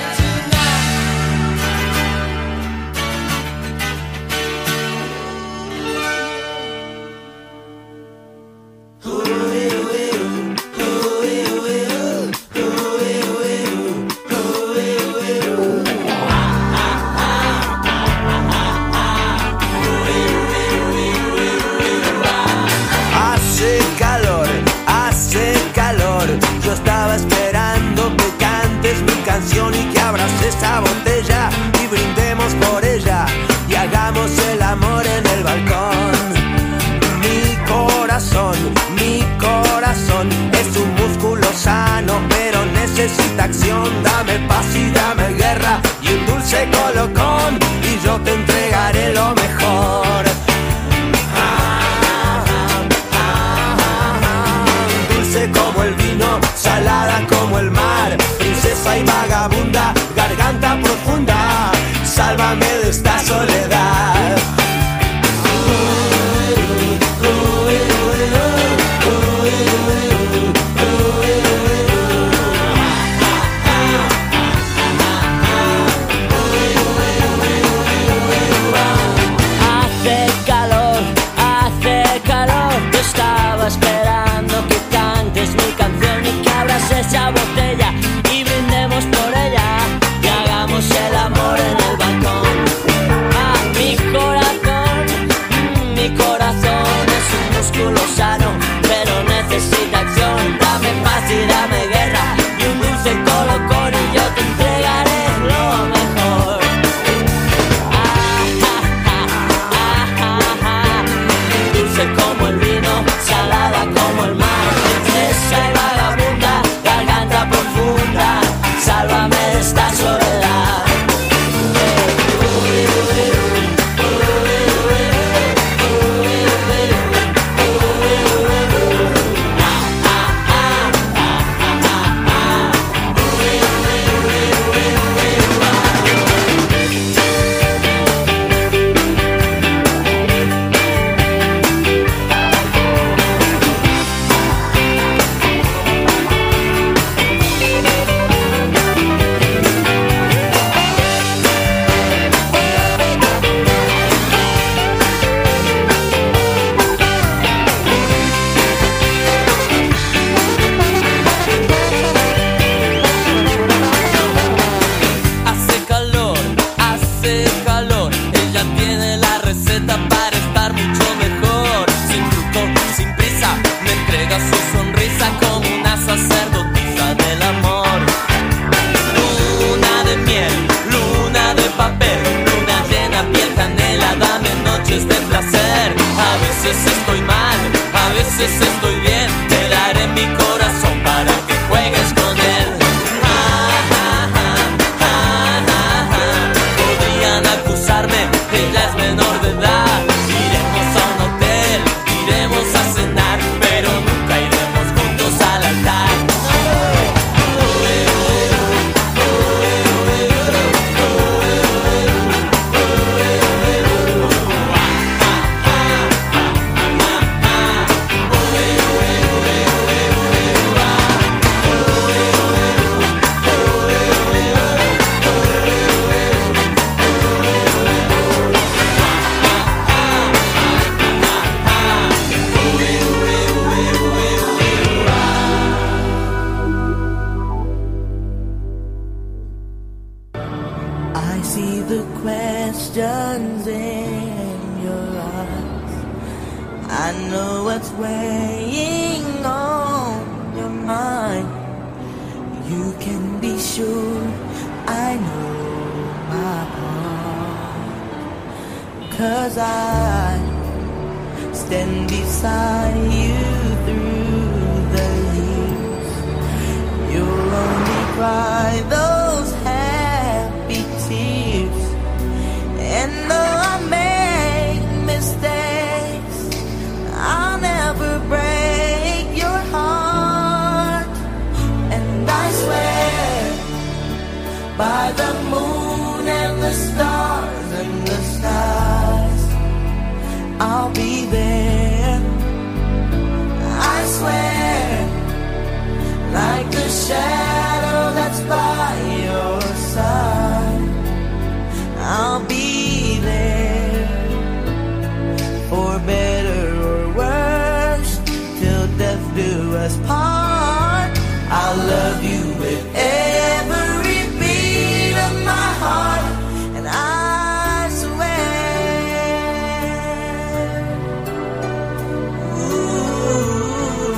Hace calor, hace calor. Yo estaba esperando que cantes mi canción y que abras esa botella y brindemos por ella y hagamos el amor en el balcón. Mi corazón, mi corazón es un músculo sano, pero necesita acción. Dame paz y dame guerra y un dulce colocón y yo te entregaré lo mejor. Dulce como el vino, salada como el mar, princesa y see the questions in your eyes. I know what's weighing on your mind. You can be sure I know my part. 'Cause I stand beside you through the years. You'll only cry those happy tears. And though I make mistakes, I'll never break your heart. And I swear by the moon and the stars and the stars, I'll be there. I swear, like the shadow that's by your side, I'll be there. For better or worse, till death do us part. I'll love you with every beat of my heart. And I swear, ooh,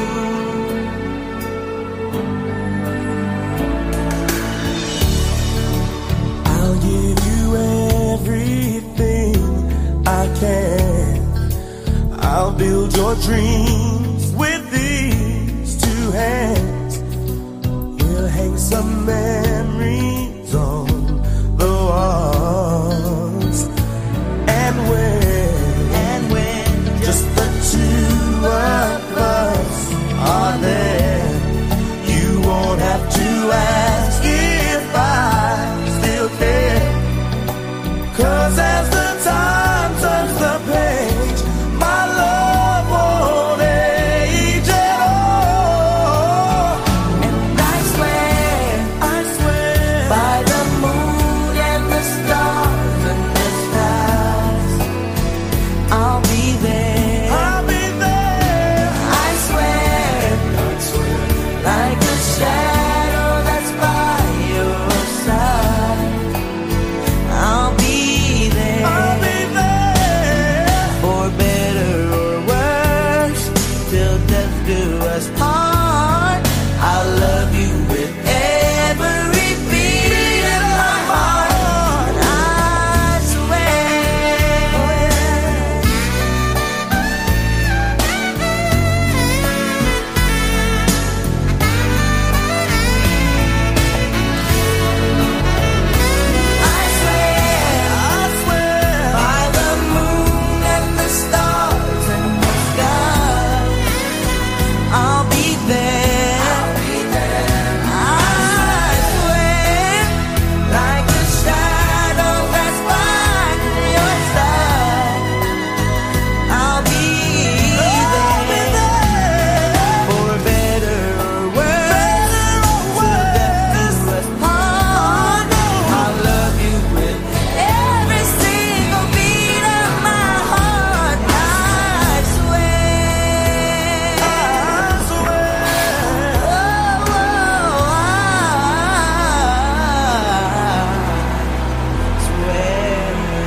I'll give you everything I can. I'll build your dreams with these two hands. We'll hang some memories on the walls. And when, and when just the two of us are there, you won't have to ask if I still care. 'Cause as the time turns the page, my love won't age at all. And I swear, I swear, by the moon and the stars and the stars, I'll be there. I'll be there. I swear, I swear, like a shadow that's by your side, I'll be there. I'll be there. For better or worse, till death do us part. I'll love you with every beat of my heart. And I swear, I swear, I swear, by the moon and the stars and the sky, I'll be there. I'll be there. I swear, like a shadow that's by your side, I'll be there. For better or worse, till death do us part. I'll love you with every single beat of my heart. I swear, I swear, oh, oh, I swear.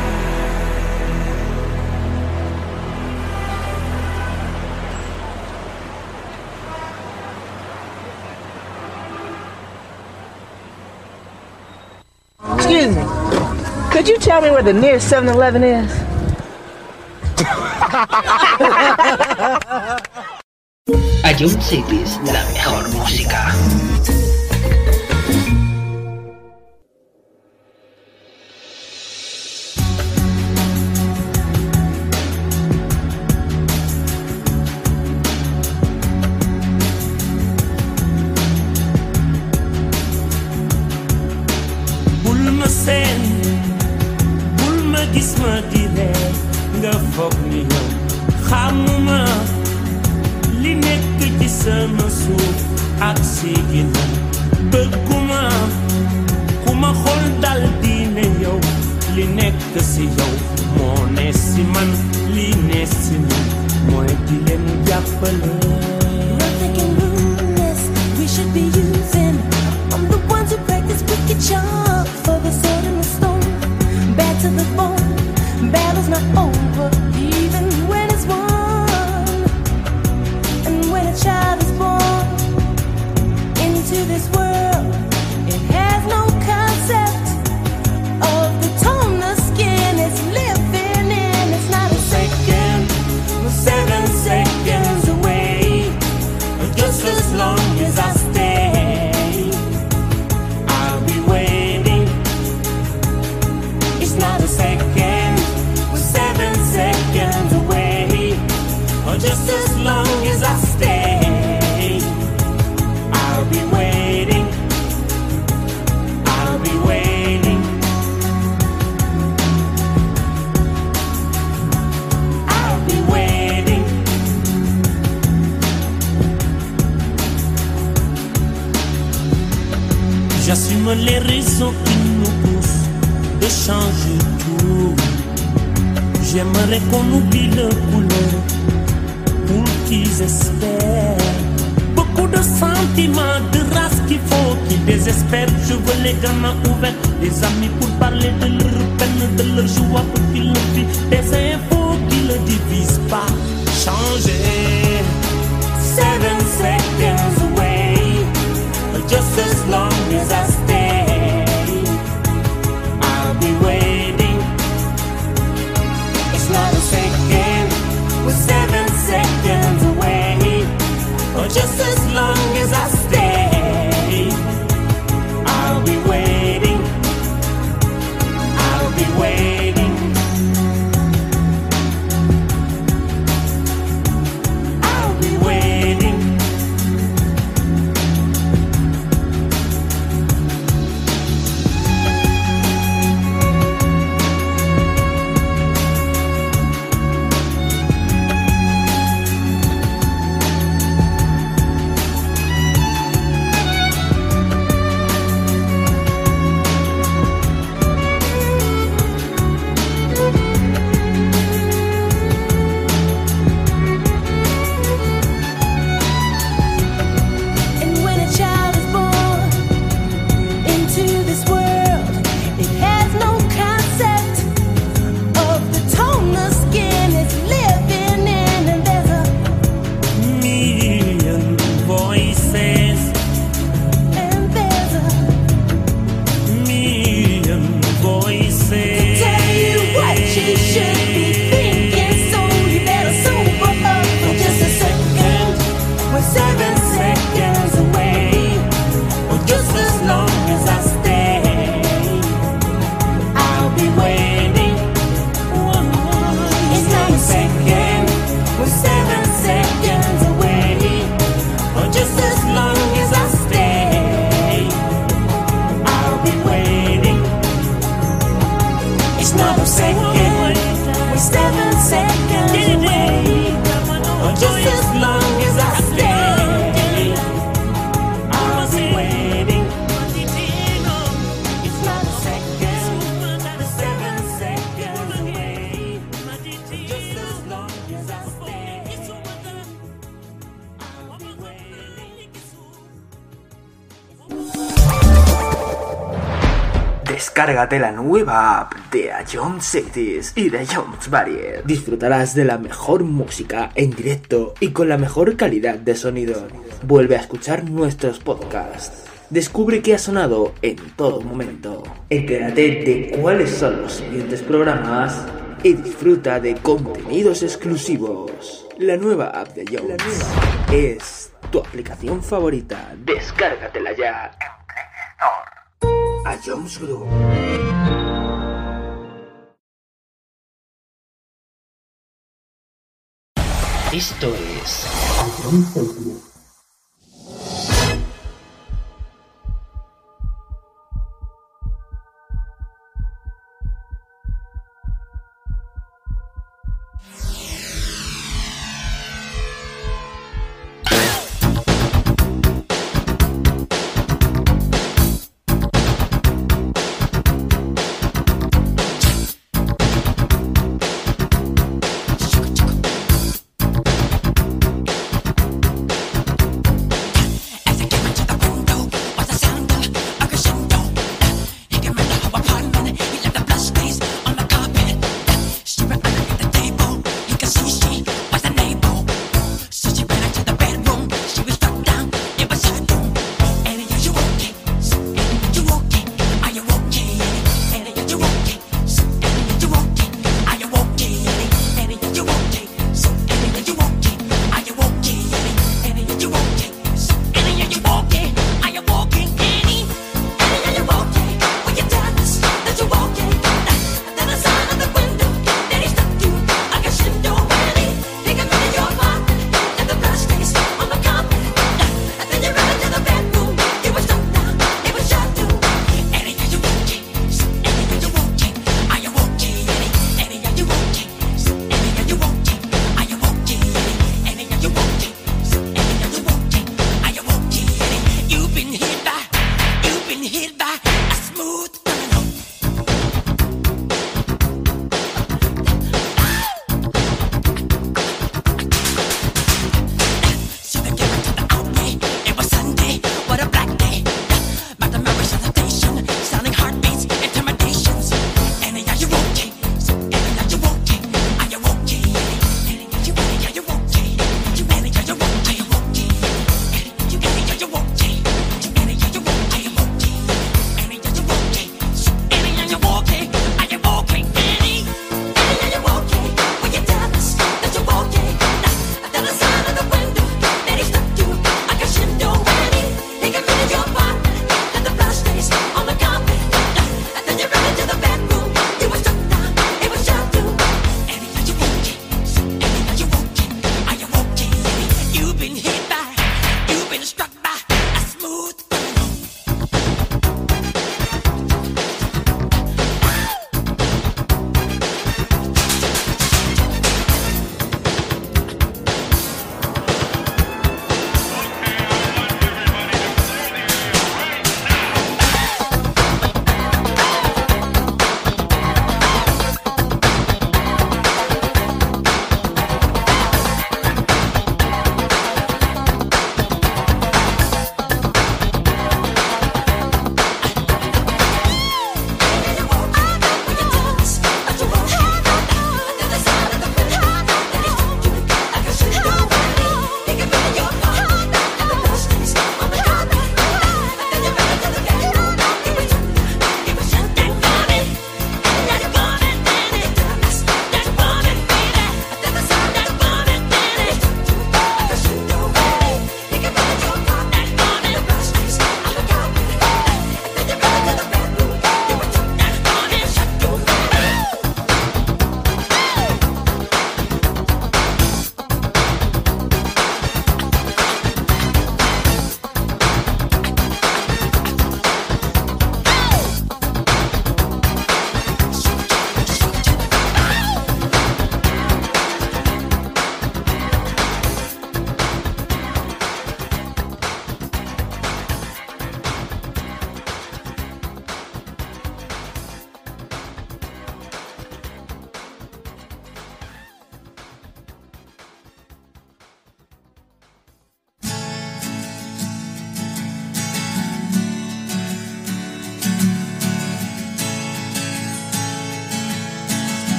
Excuse me. Could you tell me where the nearest seven eleven is? Ion Cities, la mejor música. bul ma seen bul ma gis ma di ree nga foog ni yow xamuma li nekk ci sama suuf ak si ginnaaw bëgguma ku ma xool dal di ne yow li nekk si yow moo ne si man li ne si man mooy di leen jàppale. Nothing can ruin this. We should be using. I'm the ones who practice wicked charm for the sword and the stone. J'aimerais qu'on oublie le couleur pour qu'ils espèrent. Beaucoup de sentiments, de race qu'il faut qu'ils désespèrent. Je veux les gamins ouverts, les amis pour parler de leur peine, de leur joie pour qu'ils le vivent. Des infos qui ne divisent pas, changer. Seven seconds away, just as long as I stay, I'll be waiting. It's not a second, we're seven seconds away, or just as long as I stay, I'll be waiting. I'll be waiting. I'll be waiting. And when a child is born into this world, it has no concept of the tone the skin is living in, and there's a Million voices, and there's a million voices. tell you what you should be thinking, so you better sober up for just a second. We're seven seconds away, or just as long as I stay, I'll be waiting. It's not a second, we're seven seconds away, or just as long as I stay, I'll be waiting. It's not a second, we're seven seconds away, or just as long as I stay, I'll be waiting. It's not a second, we're seven seconds away, just as long as I stay, I'll be waiting. Descárgate la nueva app de A Jones Cities y de Jones Barrier. Disfrutarás de la mejor música en directo y con la mejor calidad de sonido. Vuelve a escuchar nuestros podcasts. Descubre qué ha sonado en todo momento. Entérate de cuáles son los siguientes programas y disfruta de contenidos exclusivos. La nueva app de Jones es tu aplicación favorita. Descárgatela ya en Play Store. A Jones Group. Esto es A Jones Group.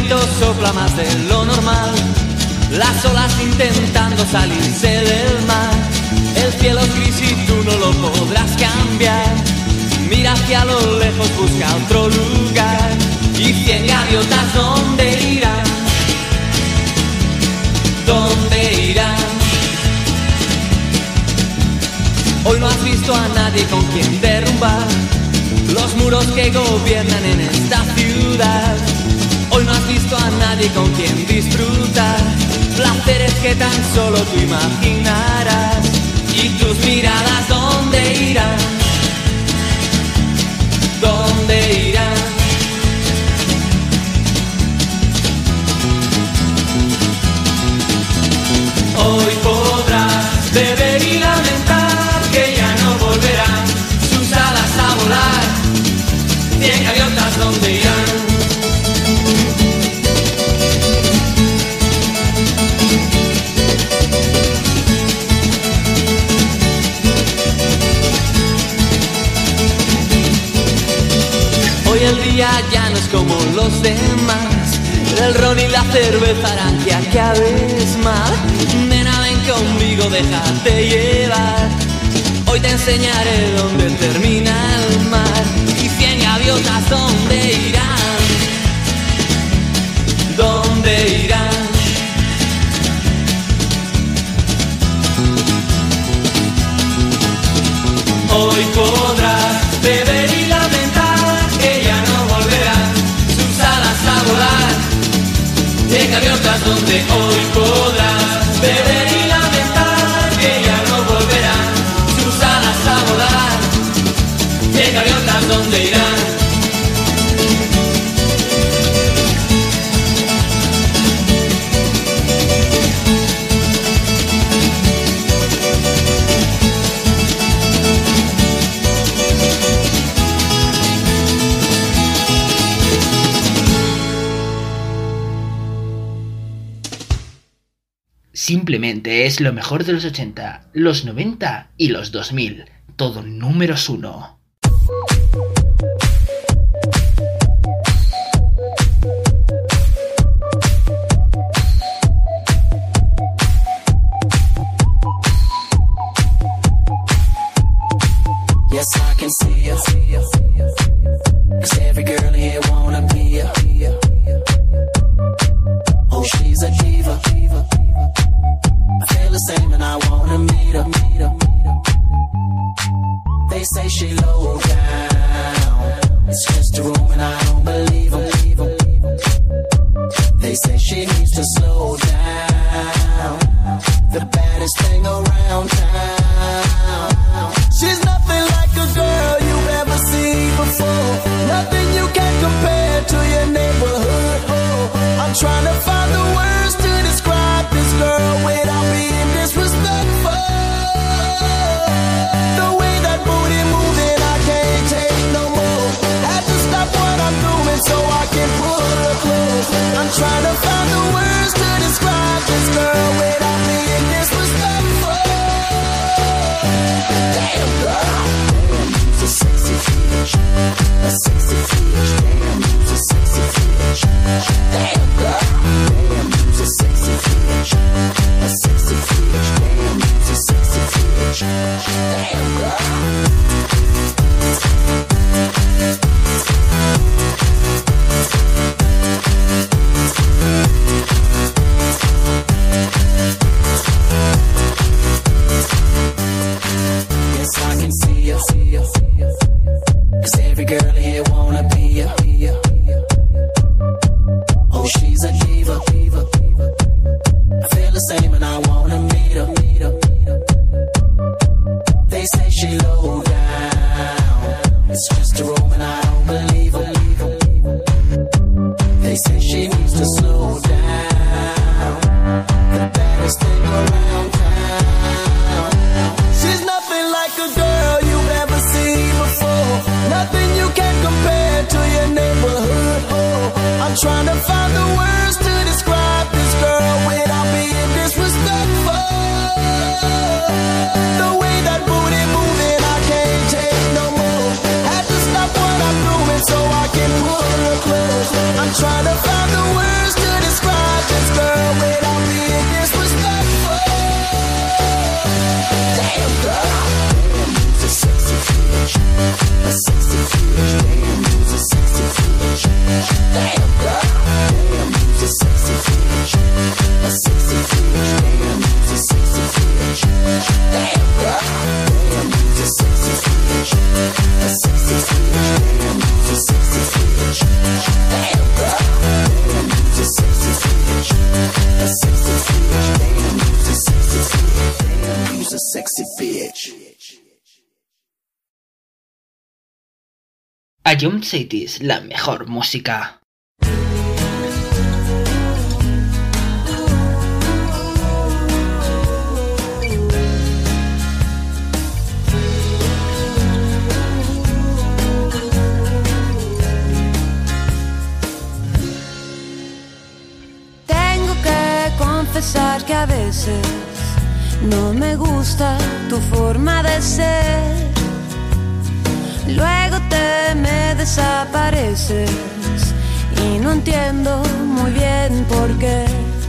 viento sopla más de lo normal, las olas intentando salirse del mar. El cielo es gris y tú no lo podrás cambiar. Mira hacia lo lejos, busca otro lugar. Y cien gaviotas, ¿dónde irán? ¿Dónde irán? Hoy no has visto a nadie con quien derrumbar los muros que gobiernan en esta ciudad. Hoy no has visto a nadie con quien disfrutar placeres que tan solo tú imaginarás. Y tus miradas, ¿dónde irán? ¿Dónde irán? Hoy podrás beber y lamentar que ya no volverán sus alas a volar. Cien gaviotas, ¿dónde irán? Hoy el día ya no es como los demás. El ron y la cerveza harán que acabes mal. Nena, ven conmigo, déjate llevar. Hoy te enseñaré dónde termina el mar. Y cien gaviotas, ¿dónde irán? ¿Dónde irán? Hoy podrás beber y lamentar que ya no volverán sus alas a volar. Cien gaviotas, donde hoy podrás beber y lamentar que ya no volverán sus alas a volar. Cien gaviotas, donde irán. Simplemente es lo mejor de los ochenta, los noventa y los dos mil. Todo números uno. Yes, I can see you. 'Cause every girl here wanna be ya. Oh, she's a diva. I feel the same and I wanna meet her. They say she low down. It's just a room and I don't believe them. They say she needs to slow down. The baddest thing around town. She's nothing like a girl you've ever seen before. Nothing you can compare to your neighborhood. Oh, I'm trying to find the words to describe this girl without being disrespectful. The way that booty moving, I can't take no more. Had to stop what I'm doing so I can pull her close. I'm trying to find the words to describe this girl without being disrespectful. Damn girl, damn, you's a sexy bitch, a sexy bitch. Damn, you's a sexy bitch. Damn girl, damn, you's a sexy bitch, a sexy bitch. Damn, you's a sexy bitch. Damn girl. Yes, I can see you. 'Cause every girl here wanna be ya. Oh, she's a diva. I feel the same and I wanna meet her. They say she low down. It's just a room and I don't believe her. They say she needs to slow down. The baddest thing around town. She's nothing like a girl you've ever seen before. Nothing you can Ion Cities, la mejor música. Tengo que confesar que a veces no me gusta tu forma de ser. Luego te me desapareces y no entiendo muy bien por qué.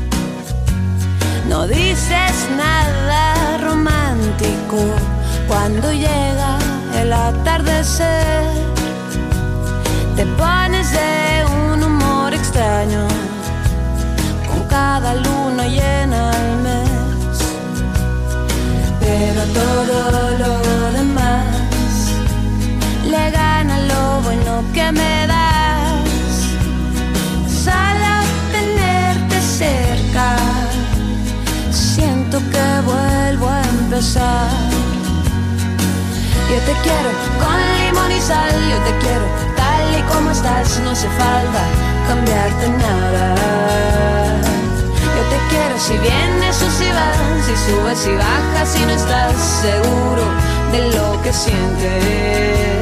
No dices nada romántico cuando llega el atardecer. Te pones de un humor extraño con cada luna llena al mes. Pero todo lo demás le gana lo bueno que me das. Solo tenerte cerca, siento que vuelvo a empezar. Yo te quiero con limón y sal, yo te quiero tal y como estás. No hace falta cambiarte nada. Yo te quiero si vienes o si vas, si subes y bajas, si no estás seguro de lo que sientes.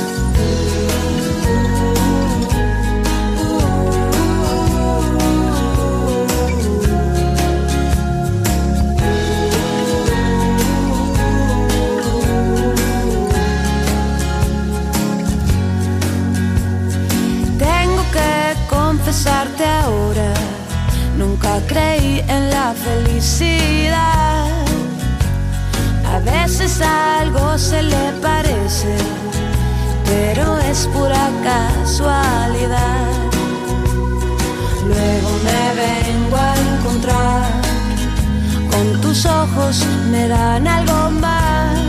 Confesarte ahora, nunca creí en la felicidad. A veces algo se le parece, pero es pura casualidad. Luego me vengo a encontrar con tus ojos, me dan algo más.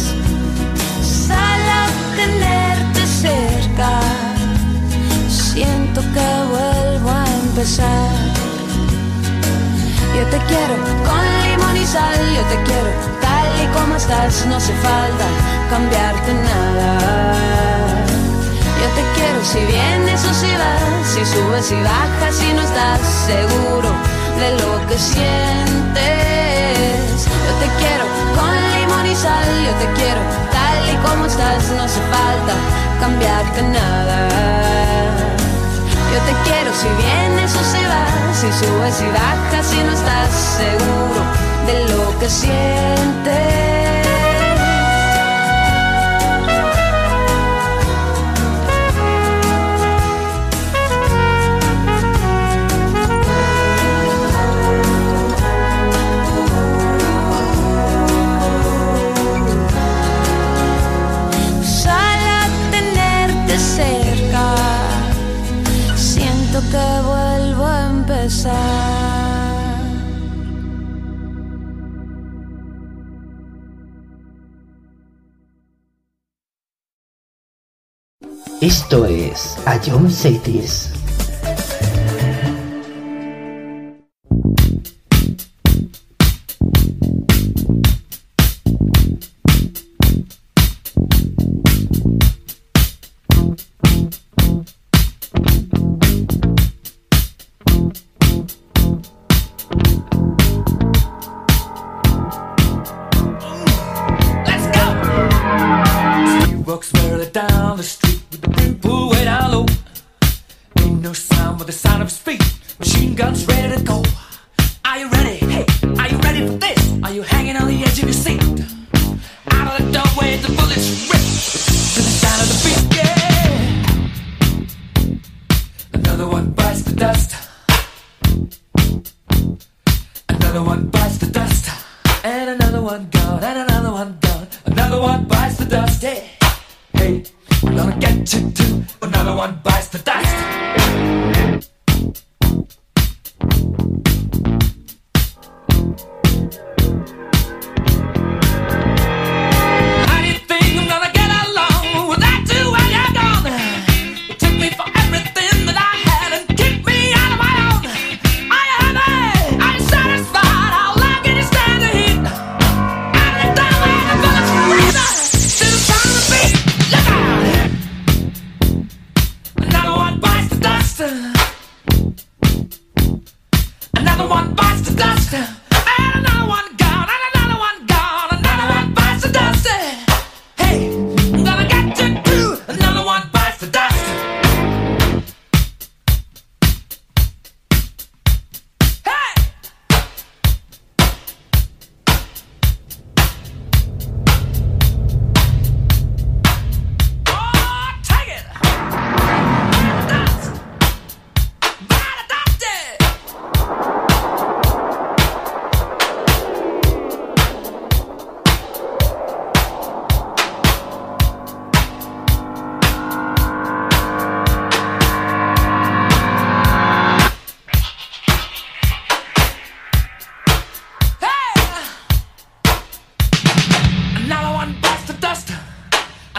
Solo tenerte cerca, siento que vuelvo a empezar. Yo te quiero con limón y sal, yo te quiero tal y como estás. No hace falta cambiarte nada. Yo te quiero si vienes o si vas, si subes y bajas, si no estás seguro de lo que sientes. Yo te quiero con limón y sal, yo te quiero tal y como estás. No hace falta cambiarte nada. Yo te quiero si vienes o si vas, si subes y bajas, si no estás seguro de lo que sientes. Que vuelvo a empezar. Esto es Ion Cities.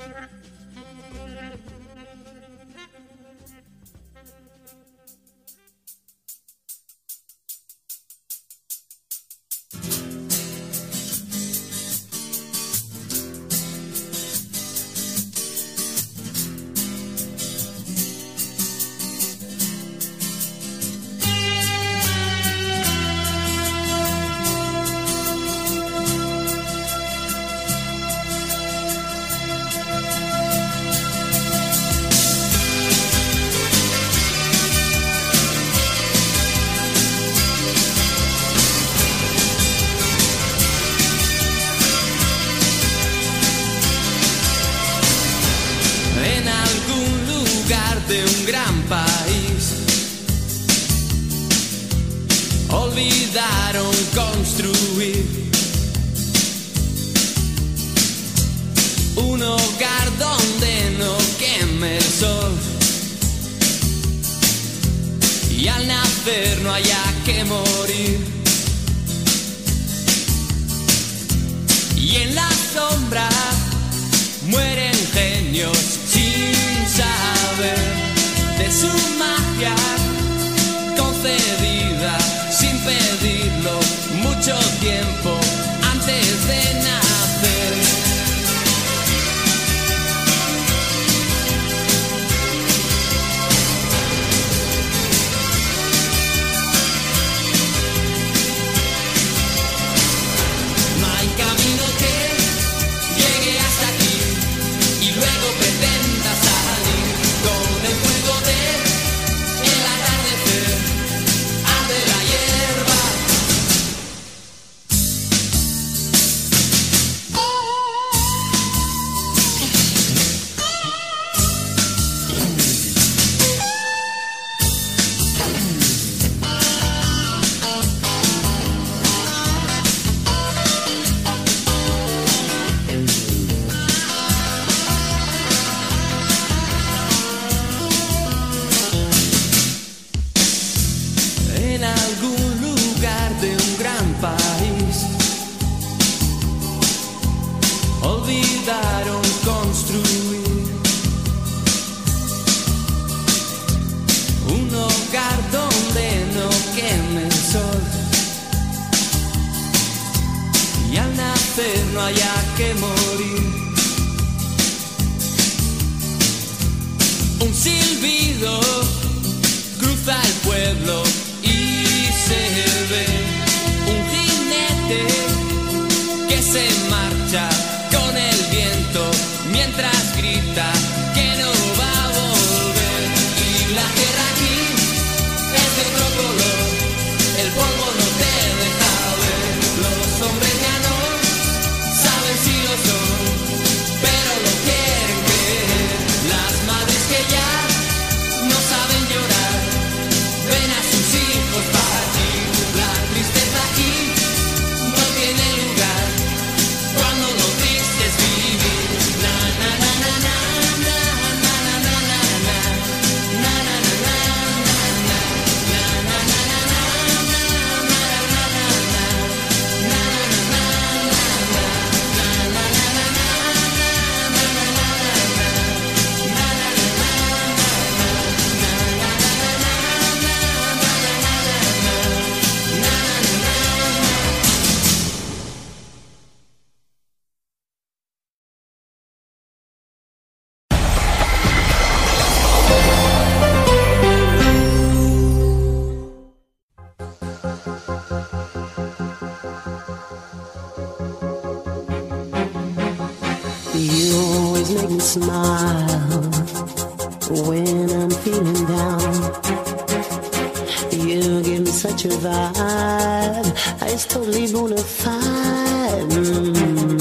En algún lugar de un gran país olvidaron construir un hogar donde no queme el sol y al nacer no haya que morir. Y en la sombra mueren genios sin saber de su magia concedida sin pedirlo mucho tiempo antes de nacer. No hay camino que llegue hasta aquí y luego pretenda salir con el fuego de el atardecer, arde la hierba. En algún lugar de un gran país olvidaron construir un hogar donde no queme el sol y al nacer no haya que morir. Un silbido cruza el pueblo y se ve un jinete que se marcha con el viento mientras grita que no va a volver. Y la tierra aquí es de otro color, el polvo no te deja ver. Los hombres ya no saben si lo son, pero lo quieren creer. Las madres que ya no saben llorar ven a sus hijos partir. La tristeza aquí no tiene lugar cuando lo triste es vivir. Na na na na na na na na na na na na na na na You always make me smile when I'm feeling down. You give me such a vibe, it's totally bona fide. Mm.